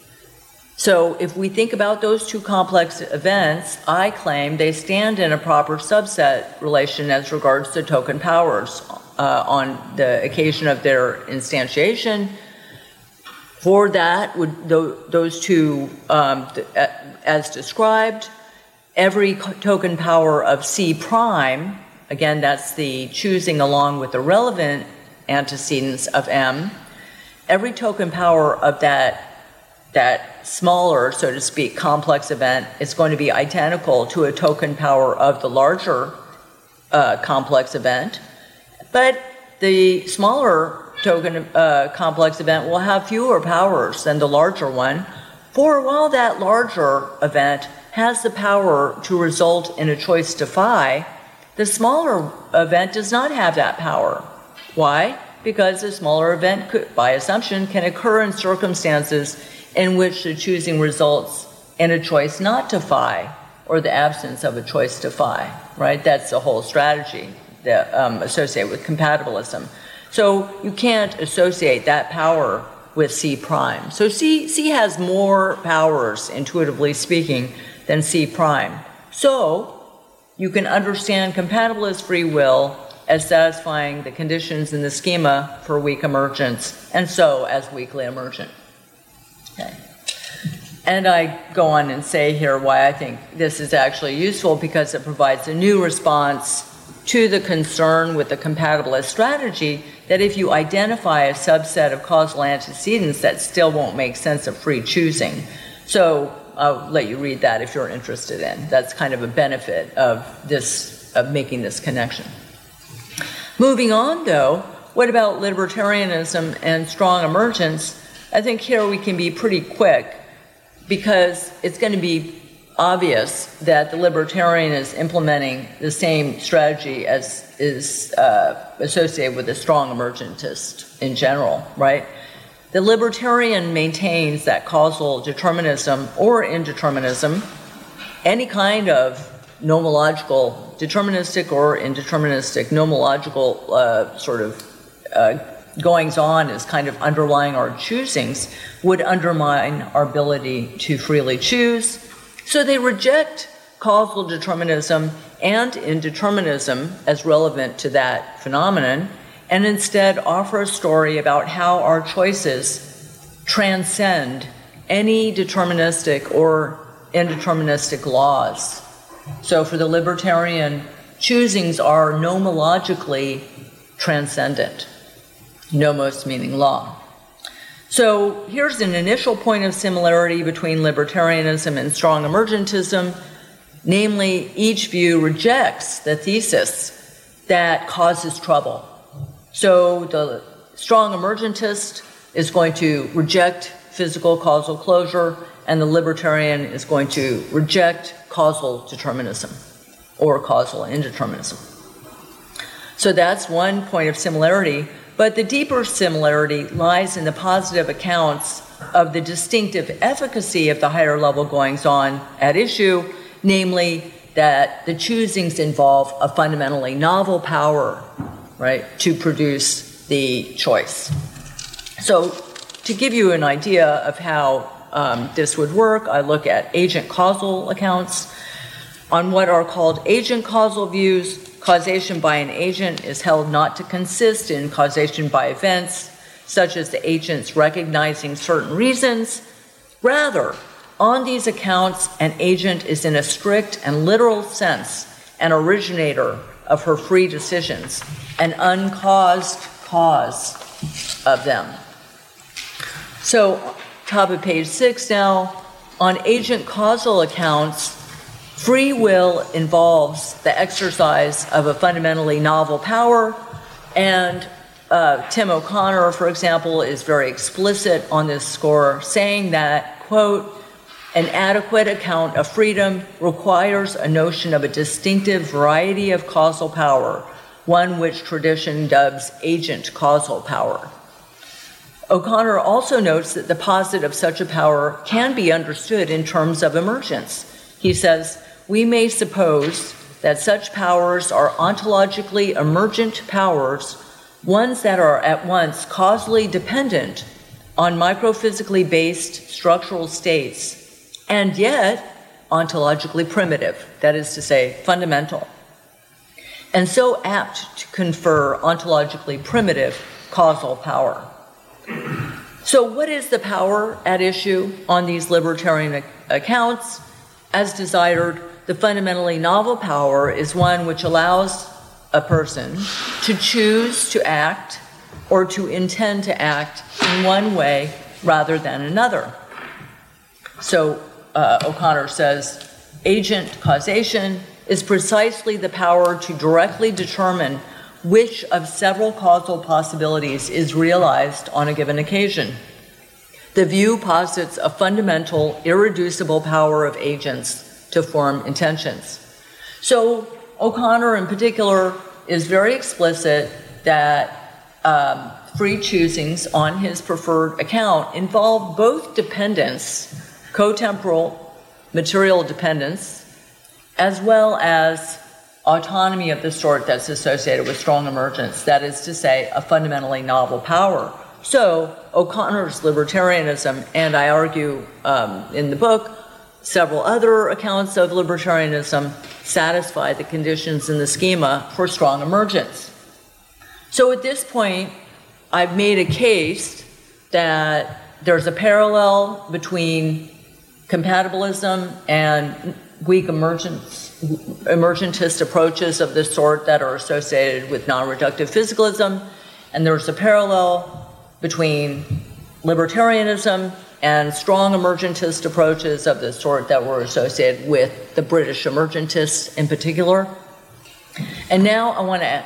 So if we think about those two complex events, I claim they stand in a proper subset relation as regards to token powers uh, on the occasion of their instantiation. For that, would th those two, um, th as described, every token power of C prime, again, that's the choosing along with the relevant antecedents of M, every token power of that that smaller, so to speak, complex event is going to be identical to a token power of the larger uh, complex event, but the smaller token uh, complex event will have fewer powers than the larger one, for while that larger event has the power to result in a choice to phi, the smaller event does not have that power. Why? Because the smaller event, could, by assumption, can occur in circumstances in which the choosing results in a choice not to phi, or the absence of a choice to phi, right? That's the whole strategy that, um, associated with compatibilism. So you can't associate that power with C prime. So C, C has more powers, intuitively speaking, than C prime. So you can understand compatibilist free will as satisfying the conditions in the schema for weak emergence, and so as weakly emergent. Okay. And I go on and say here why I think this is actually useful, because it provides a new response to the concern with the compatibilist strategy that if you identify a subset of causal antecedents, that still won't make sense of free choosing. So I'll let you read that if you're interested in. That's kind of a benefit of this, of making this connection. Moving on, though, what about libertarianism and strong emergence? I think here we can be pretty quick, because it's going to be obvious that the libertarian is implementing the same strategy as is uh, associated with the strong emergentist in general, right? The libertarian maintains that causal determinism or indeterminism, any kind of nomological, deterministic or indeterministic nomological uh, sort of uh, goings on as kind of underlying our choosings, would undermine our ability to freely choose. So they reject causal determinism and indeterminism as relevant to that phenomenon, and instead offer a story about how our choices transcend any deterministic or indeterministic laws. So for the libertarian, choosings are nomologically transcendent. Nomos meaning law. So here's an initial point of similarity between libertarianism and strong emergentism. Namely, each view rejects the thesis that causes trouble. So the strong emergentist is going to reject physical causal closure, and the libertarian is going to reject causal determinism or causal indeterminism. So that's one point of similarity. But the deeper similarity lies in the positive accounts of the distinctive efficacy of the higher level goings-on at issue, namely that the choosings involve a fundamentally novel power, right, to produce the choice. So to give you an idea of how um, this would work, I look at agent causal accounts. On what are called agent causal views, causation by an agent is held not to consist in causation by events, such as the agent's recognizing certain reasons. Rather, on these accounts, an agent is in a strict and literal sense an originator of her free decisions, an uncaused cause of them. So, top of page six now, on agent causal accounts, Free will involves the exercise of a fundamentally novel power, and uh, Tim O'Connor, for example, is very explicit on this score, saying that, quote, an adequate account of freedom requires a notion of a distinctive variety of causal power, one which tradition dubs agent causal power. O'Connor also notes that the posit of such a power can be understood in terms of emergence. He says, we may suppose that such powers are ontologically emergent powers, ones that are at once causally dependent on microphysically based structural states, and yet ontologically primitive, that is to say, fundamental, and so apt to confer ontologically primitive causal power. So what is the power at issue on these libertarian accounts? As desired, the fundamentally novel power is one which allows a person to choose to act or to intend to act in one way rather than another. So uh, O'Connor says, agent causation is precisely the power to directly determine which of several causal possibilities is realized on a given occasion. The view posits a fundamental, irreducible power of agents to form intentions. So O'Connor in particular is very explicit that um, free choosings on his preferred account involve both dependence, cotemporal material dependence, as well as autonomy of the sort that's associated with strong emergence, that is to say, a fundamentally novel power. So O'Connor's libertarianism, and I argue um, in the book, several other accounts of libertarianism satisfy the conditions in the schema for strong emergence. So at this point, I've made a case that there's a parallel between compatibilism and weak emergence, emergentist approaches of this sort that are associated with non-reductive physicalism, and there's a parallel between libertarianism and strong emergentist approaches of this sort that were associated with the British emergentists in particular. And now I want to,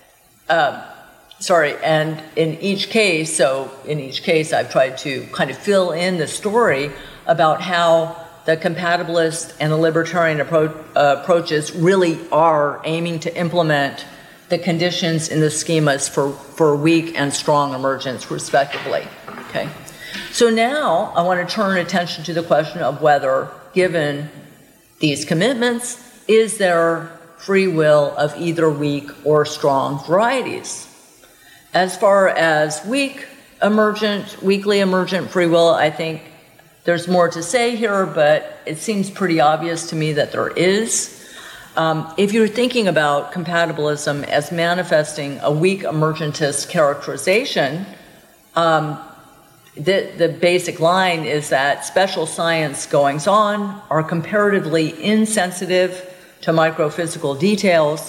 uh, sorry, and in each case, so in each case I've tried to kind of fill in the story about how the compatibilist and the libertarian appro uh, approaches really are aiming to implement the conditions in the schemas for, for weak and strong emergence, respectively. Okay. So now I want to turn attention to the question of whether, given these commitments, is there free will of either weak or strong varieties? As far as weak emergent, weakly emergent free will, I think there's more to say here, but it seems pretty obvious to me that there is. Um, if you're thinking about compatibilism as manifesting a weak emergentist characterization, um, the, the basic line is that special science goings-on are comparatively insensitive to microphysical details.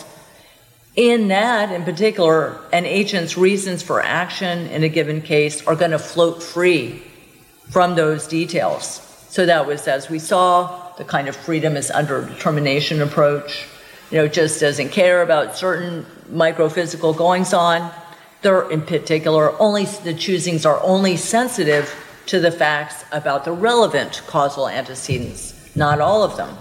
In that, in particular, an agent's reasons for action in a given case are going to float free from those details. So that was, as we saw, the kind of freedom is under determination approach. You know, just doesn't care about certain microphysical goings-on. They're, in particular, only the choosings are only sensitive to the facts about the relevant causal antecedents, not all of them.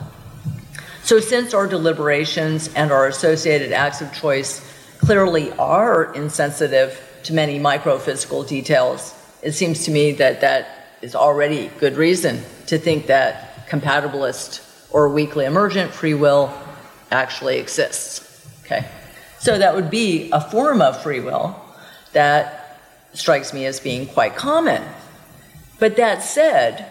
So since our deliberations and our associated acts of choice clearly are insensitive to many microphysical details, it seems to me that that is already good reason to think that compatibilist or weakly emergent free will actually exists. Okay, so that would be a form of free will that strikes me as being quite common. But that said,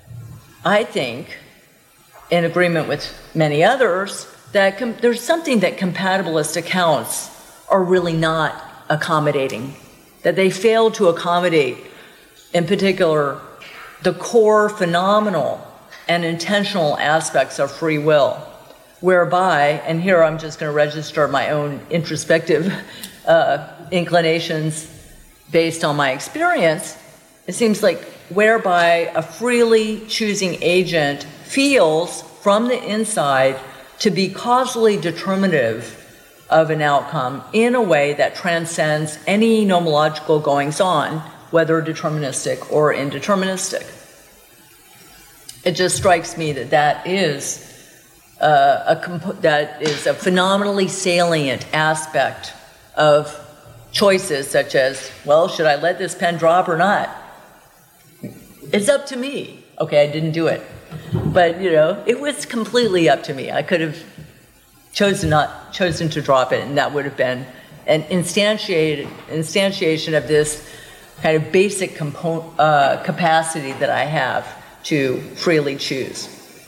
I think, in agreement with many others, that com there's something that compatibilist accounts are really not accommodating, that they fail to accommodate, in particular, the core phenomenal and intentional aspects of free will, whereby, and here I'm just going to register my own introspective uh, inclinations based on my experience, it seems like whereby a freely choosing agent feels from the inside to be causally determinative of an outcome in a way that transcends any nomological goings-on, whether deterministic or indeterministic. It just strikes me that that is uh, a comp- that is a phenomenally salient aspect of choices such as, well, should I let this pen drop or not? It's up to me. Okay, I didn't do it. But, you know, it was completely up to me. I could have chosen not chosen to drop it, and that would have been an instantiated instantiation of this kind of basic component, uh, capacity that I have to freely choose.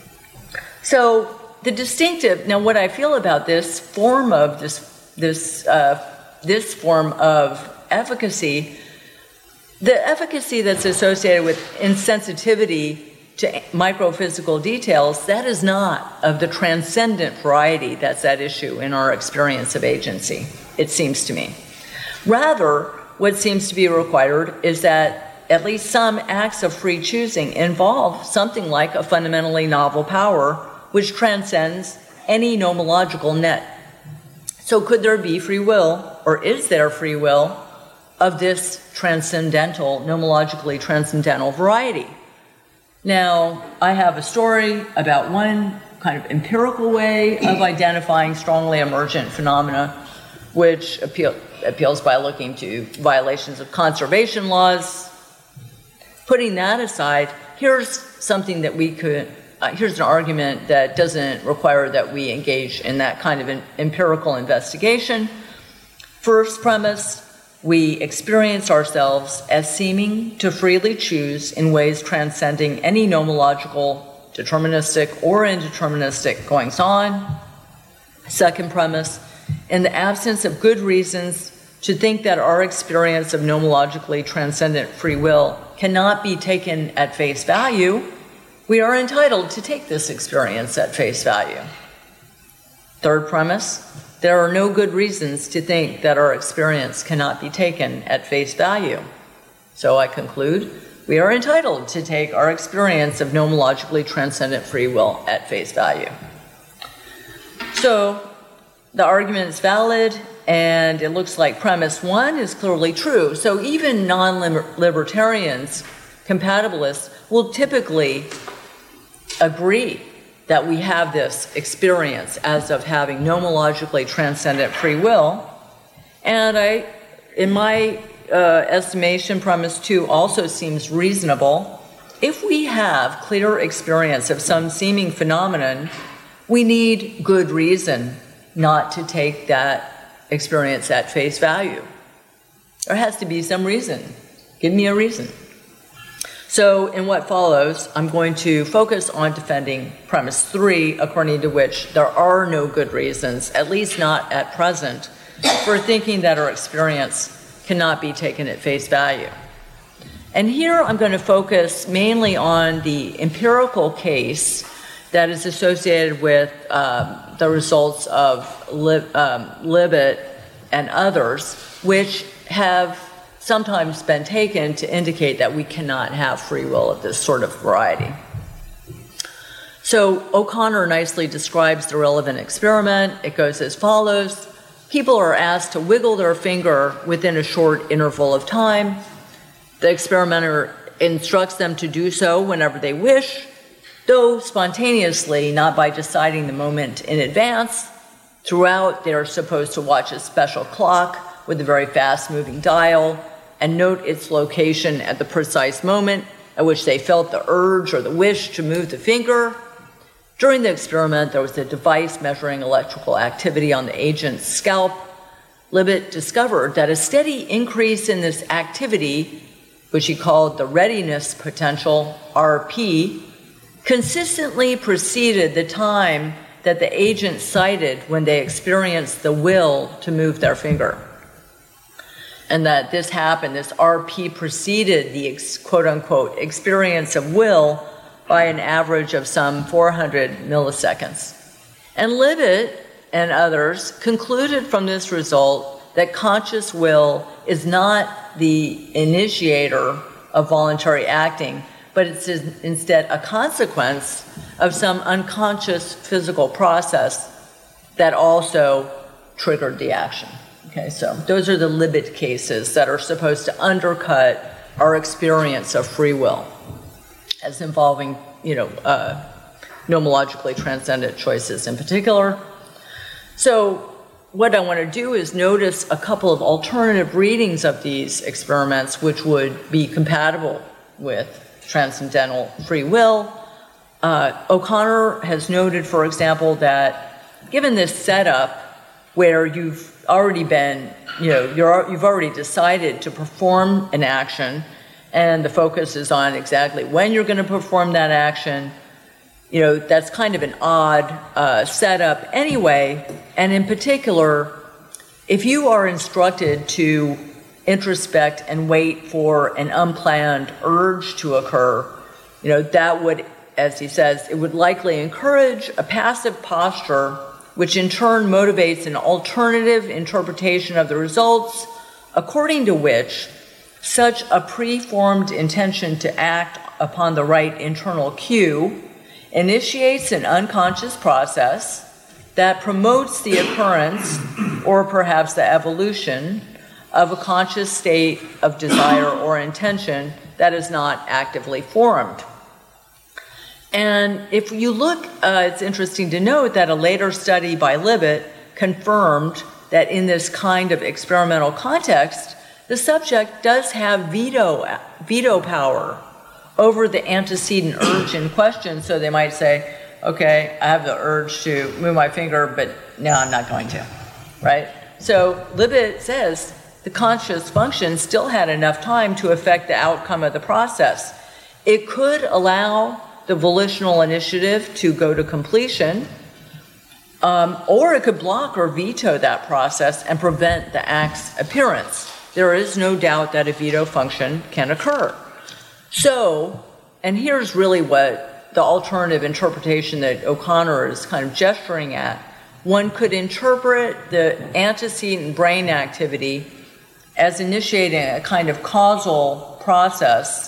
So the distinctive, now what I feel about this form of this, this, uh, this form of efficacy, the efficacy that's associated with insensitivity to microphysical details, that is not of the transcendent variety that's at issue in our experience of agency, it seems to me. Rather, what seems to be required is that at least some acts of free choosing involve something like a fundamentally novel power which transcends any nomological net. So could there be free will, or is there free will, of this transcendental, nomologically transcendental variety? Now, I have a story about one kind of empirical way of identifying strongly emergent phenomena, which appeal, appeals by looking to violations of conservation laws. Putting that aside, here's something that we could, uh, here's an argument that doesn't require that we engage in that kind of an empirical investigation. First premise, we experience ourselves as seeming to freely choose in ways transcending any nomological, deterministic, or indeterministic goings-on. Second premise, in the absence of good reasons to think that our experience of nomologically transcendent free will cannot be taken at face value, we are entitled to take this experience at face value. Third premise, there are no good reasons to think that our experience cannot be taken at face value. So I conclude, we are entitled to take our experience of nomologically transcendent free will at face value. So the argument is valid, and it looks like premise one is clearly true. So even non-libertarians, compatibilists, will typically agree that we have this experience as of having nomologically transcendent free will. And I, in my uh, estimation, premise two also seems reasonable. If we have clear experience of some seeming phenomenon, we need good reason not to take that experience at face value. There has to be some reason. Give me a reason. So in what follows, I'm going to focus on defending premise three, according to which there are no good reasons, at least not at present, for thinking that our experience cannot be taken at face value. And here I'm going to focus mainly on the empirical case that is associated with um, the results of Lib, um, Libet and others, which have sometimes been taken to indicate that we cannot have free will of this sort of variety. So O'Connor nicely describes the relevant experiment. It goes as follows. People are asked to wiggle their finger within a short interval of time. The experimenter instructs them to do so whenever they wish, though spontaneously, not by deciding the moment in advance. Throughout, they are supposed to watch a special clock with a very fast-moving dial and note its location at the precise moment at which they felt the urge or the wish to move the finger. During the experiment, there was a device measuring electrical activity on the agent's scalp. Libet discovered that a steady increase in this activity, which he called the readiness potential, R P, consistently preceded the time that the agent cited when they experienced the will to move their finger. And that this happened, this R P preceded the quote-unquote experience of will by an average of some four hundred milliseconds. And Libet and others concluded from this result that conscious will is not the initiator of voluntary acting, but it's instead a consequence of some unconscious physical process that also triggered the action. Okay, so those are the Libet cases that are supposed to undercut our experience of free will as involving, you know, uh, nomologically transcendent choices in particular. So what I want to do is notice a couple of alternative readings of these experiments which would be compatible with transcendental free will. Uh, O'Connor has noted, for example, that given this setup where you've already been, you know, you're, you've already decided to perform an action, and the focus is on exactly when you're going to perform that action, you know, that's kind of an odd uh, setup anyway. And in particular, if you are instructed to introspect and wait for an unplanned urge to occur, you know, that would, as he says, it would likely encourage a passive posture, which in turn motivates an alternative interpretation of the results, according to which such a preformed intention to act upon the right internal cue initiates an unconscious process that promotes the occurrence, or perhaps the evolution, of a conscious state of desire or intention that is not actively formed. And if you look, uh, it's interesting to note that a later study by Libet confirmed that in this kind of experimental context, the subject does have veto, veto power over the antecedent urge in question. So they might say, okay, I have the urge to move my finger, but no, I'm not going to, right? So Libet says the conscious function still had enough time to affect the outcome of the process. It could allow the volitional initiative to go to completion, um, or it could block or veto that process and prevent the act's appearance. There is no doubt that a veto function can occur. So, and here's really what the alternative interpretation that O'Connor is kind of gesturing at. One could interpret the antecedent brain activity as initiating a kind of causal process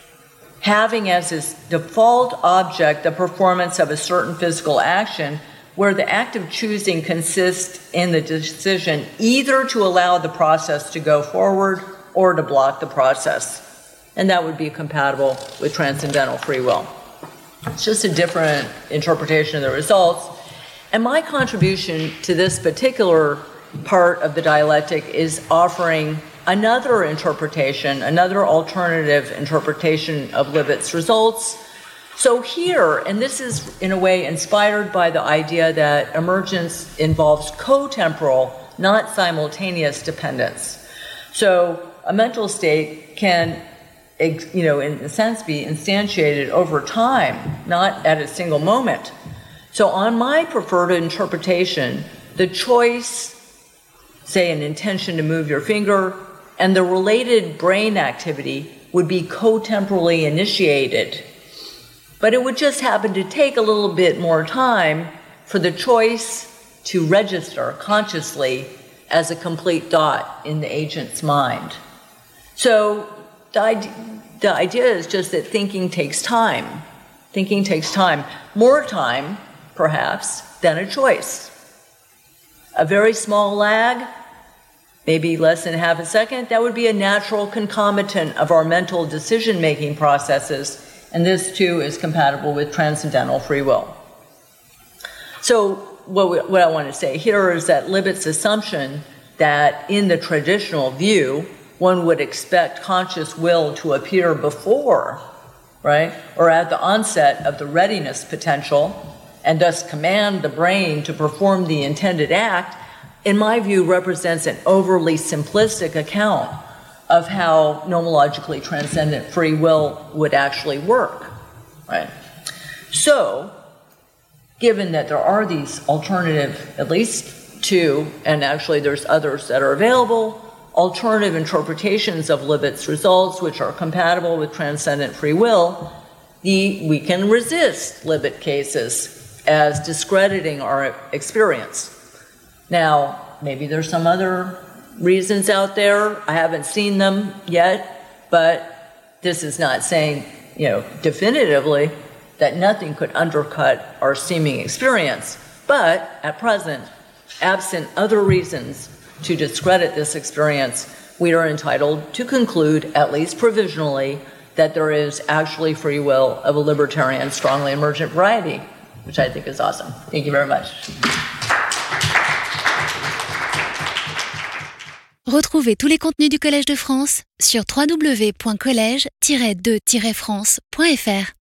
having as its default object the performance of a certain physical action, where the act of choosing consists in the decision either to allow the process to go forward or to block the process. And that would be compatible with transcendental free will. It's just a different interpretation of the results. And my contribution to this particular part of the dialectic is offering another interpretation, another alternative interpretation of Libet's results. So here, and this is in a way inspired by the idea that emergence involves co-temporal, not simultaneous dependence. So a mental state can, you know, in a sense be instantiated over time, not at a single moment. So on my preferred interpretation, the choice, say an intention to move your finger, and the related brain activity would be co-temporally initiated. But it would just happen to take a little bit more time for the choice to register consciously as a complete thought in the agent's mind. So the idea, the idea is just that thinking takes time. Thinking takes time. More time, perhaps, than a choice. A very small lag, maybe less than half a second, that would be a natural concomitant of our mental decision-making processes, and this too is compatible with transcendental free will. So what, we, what I want to say here is that Libet's assumption that in the traditional view, one would expect conscious will to appear before, right, or at the onset of the readiness potential, and thus command the brain to perform the intended act, in my view, represents an overly simplistic account of how nomologically transcendent free will would actually work, right? So, given that there are these alternative, at least two, and actually there's others that are available, alternative interpretations of Libet's results, which are compatible with transcendent free will, the, we can resist Libet cases as discrediting our experience. Now, maybe there's some other reasons out there. I haven't seen them yet, but this is not saying you know, definitively that nothing could undercut our seeming experience. But at present, absent other reasons to discredit this experience, we are entitled to conclude, at least provisionally, that there is actually free will of a libertarian, strongly emergent variety, which I think is awesome. Thank you very much. Retrouvez tous les contenus du Collège de France sur w w w point collège tiret de tiret france point f r.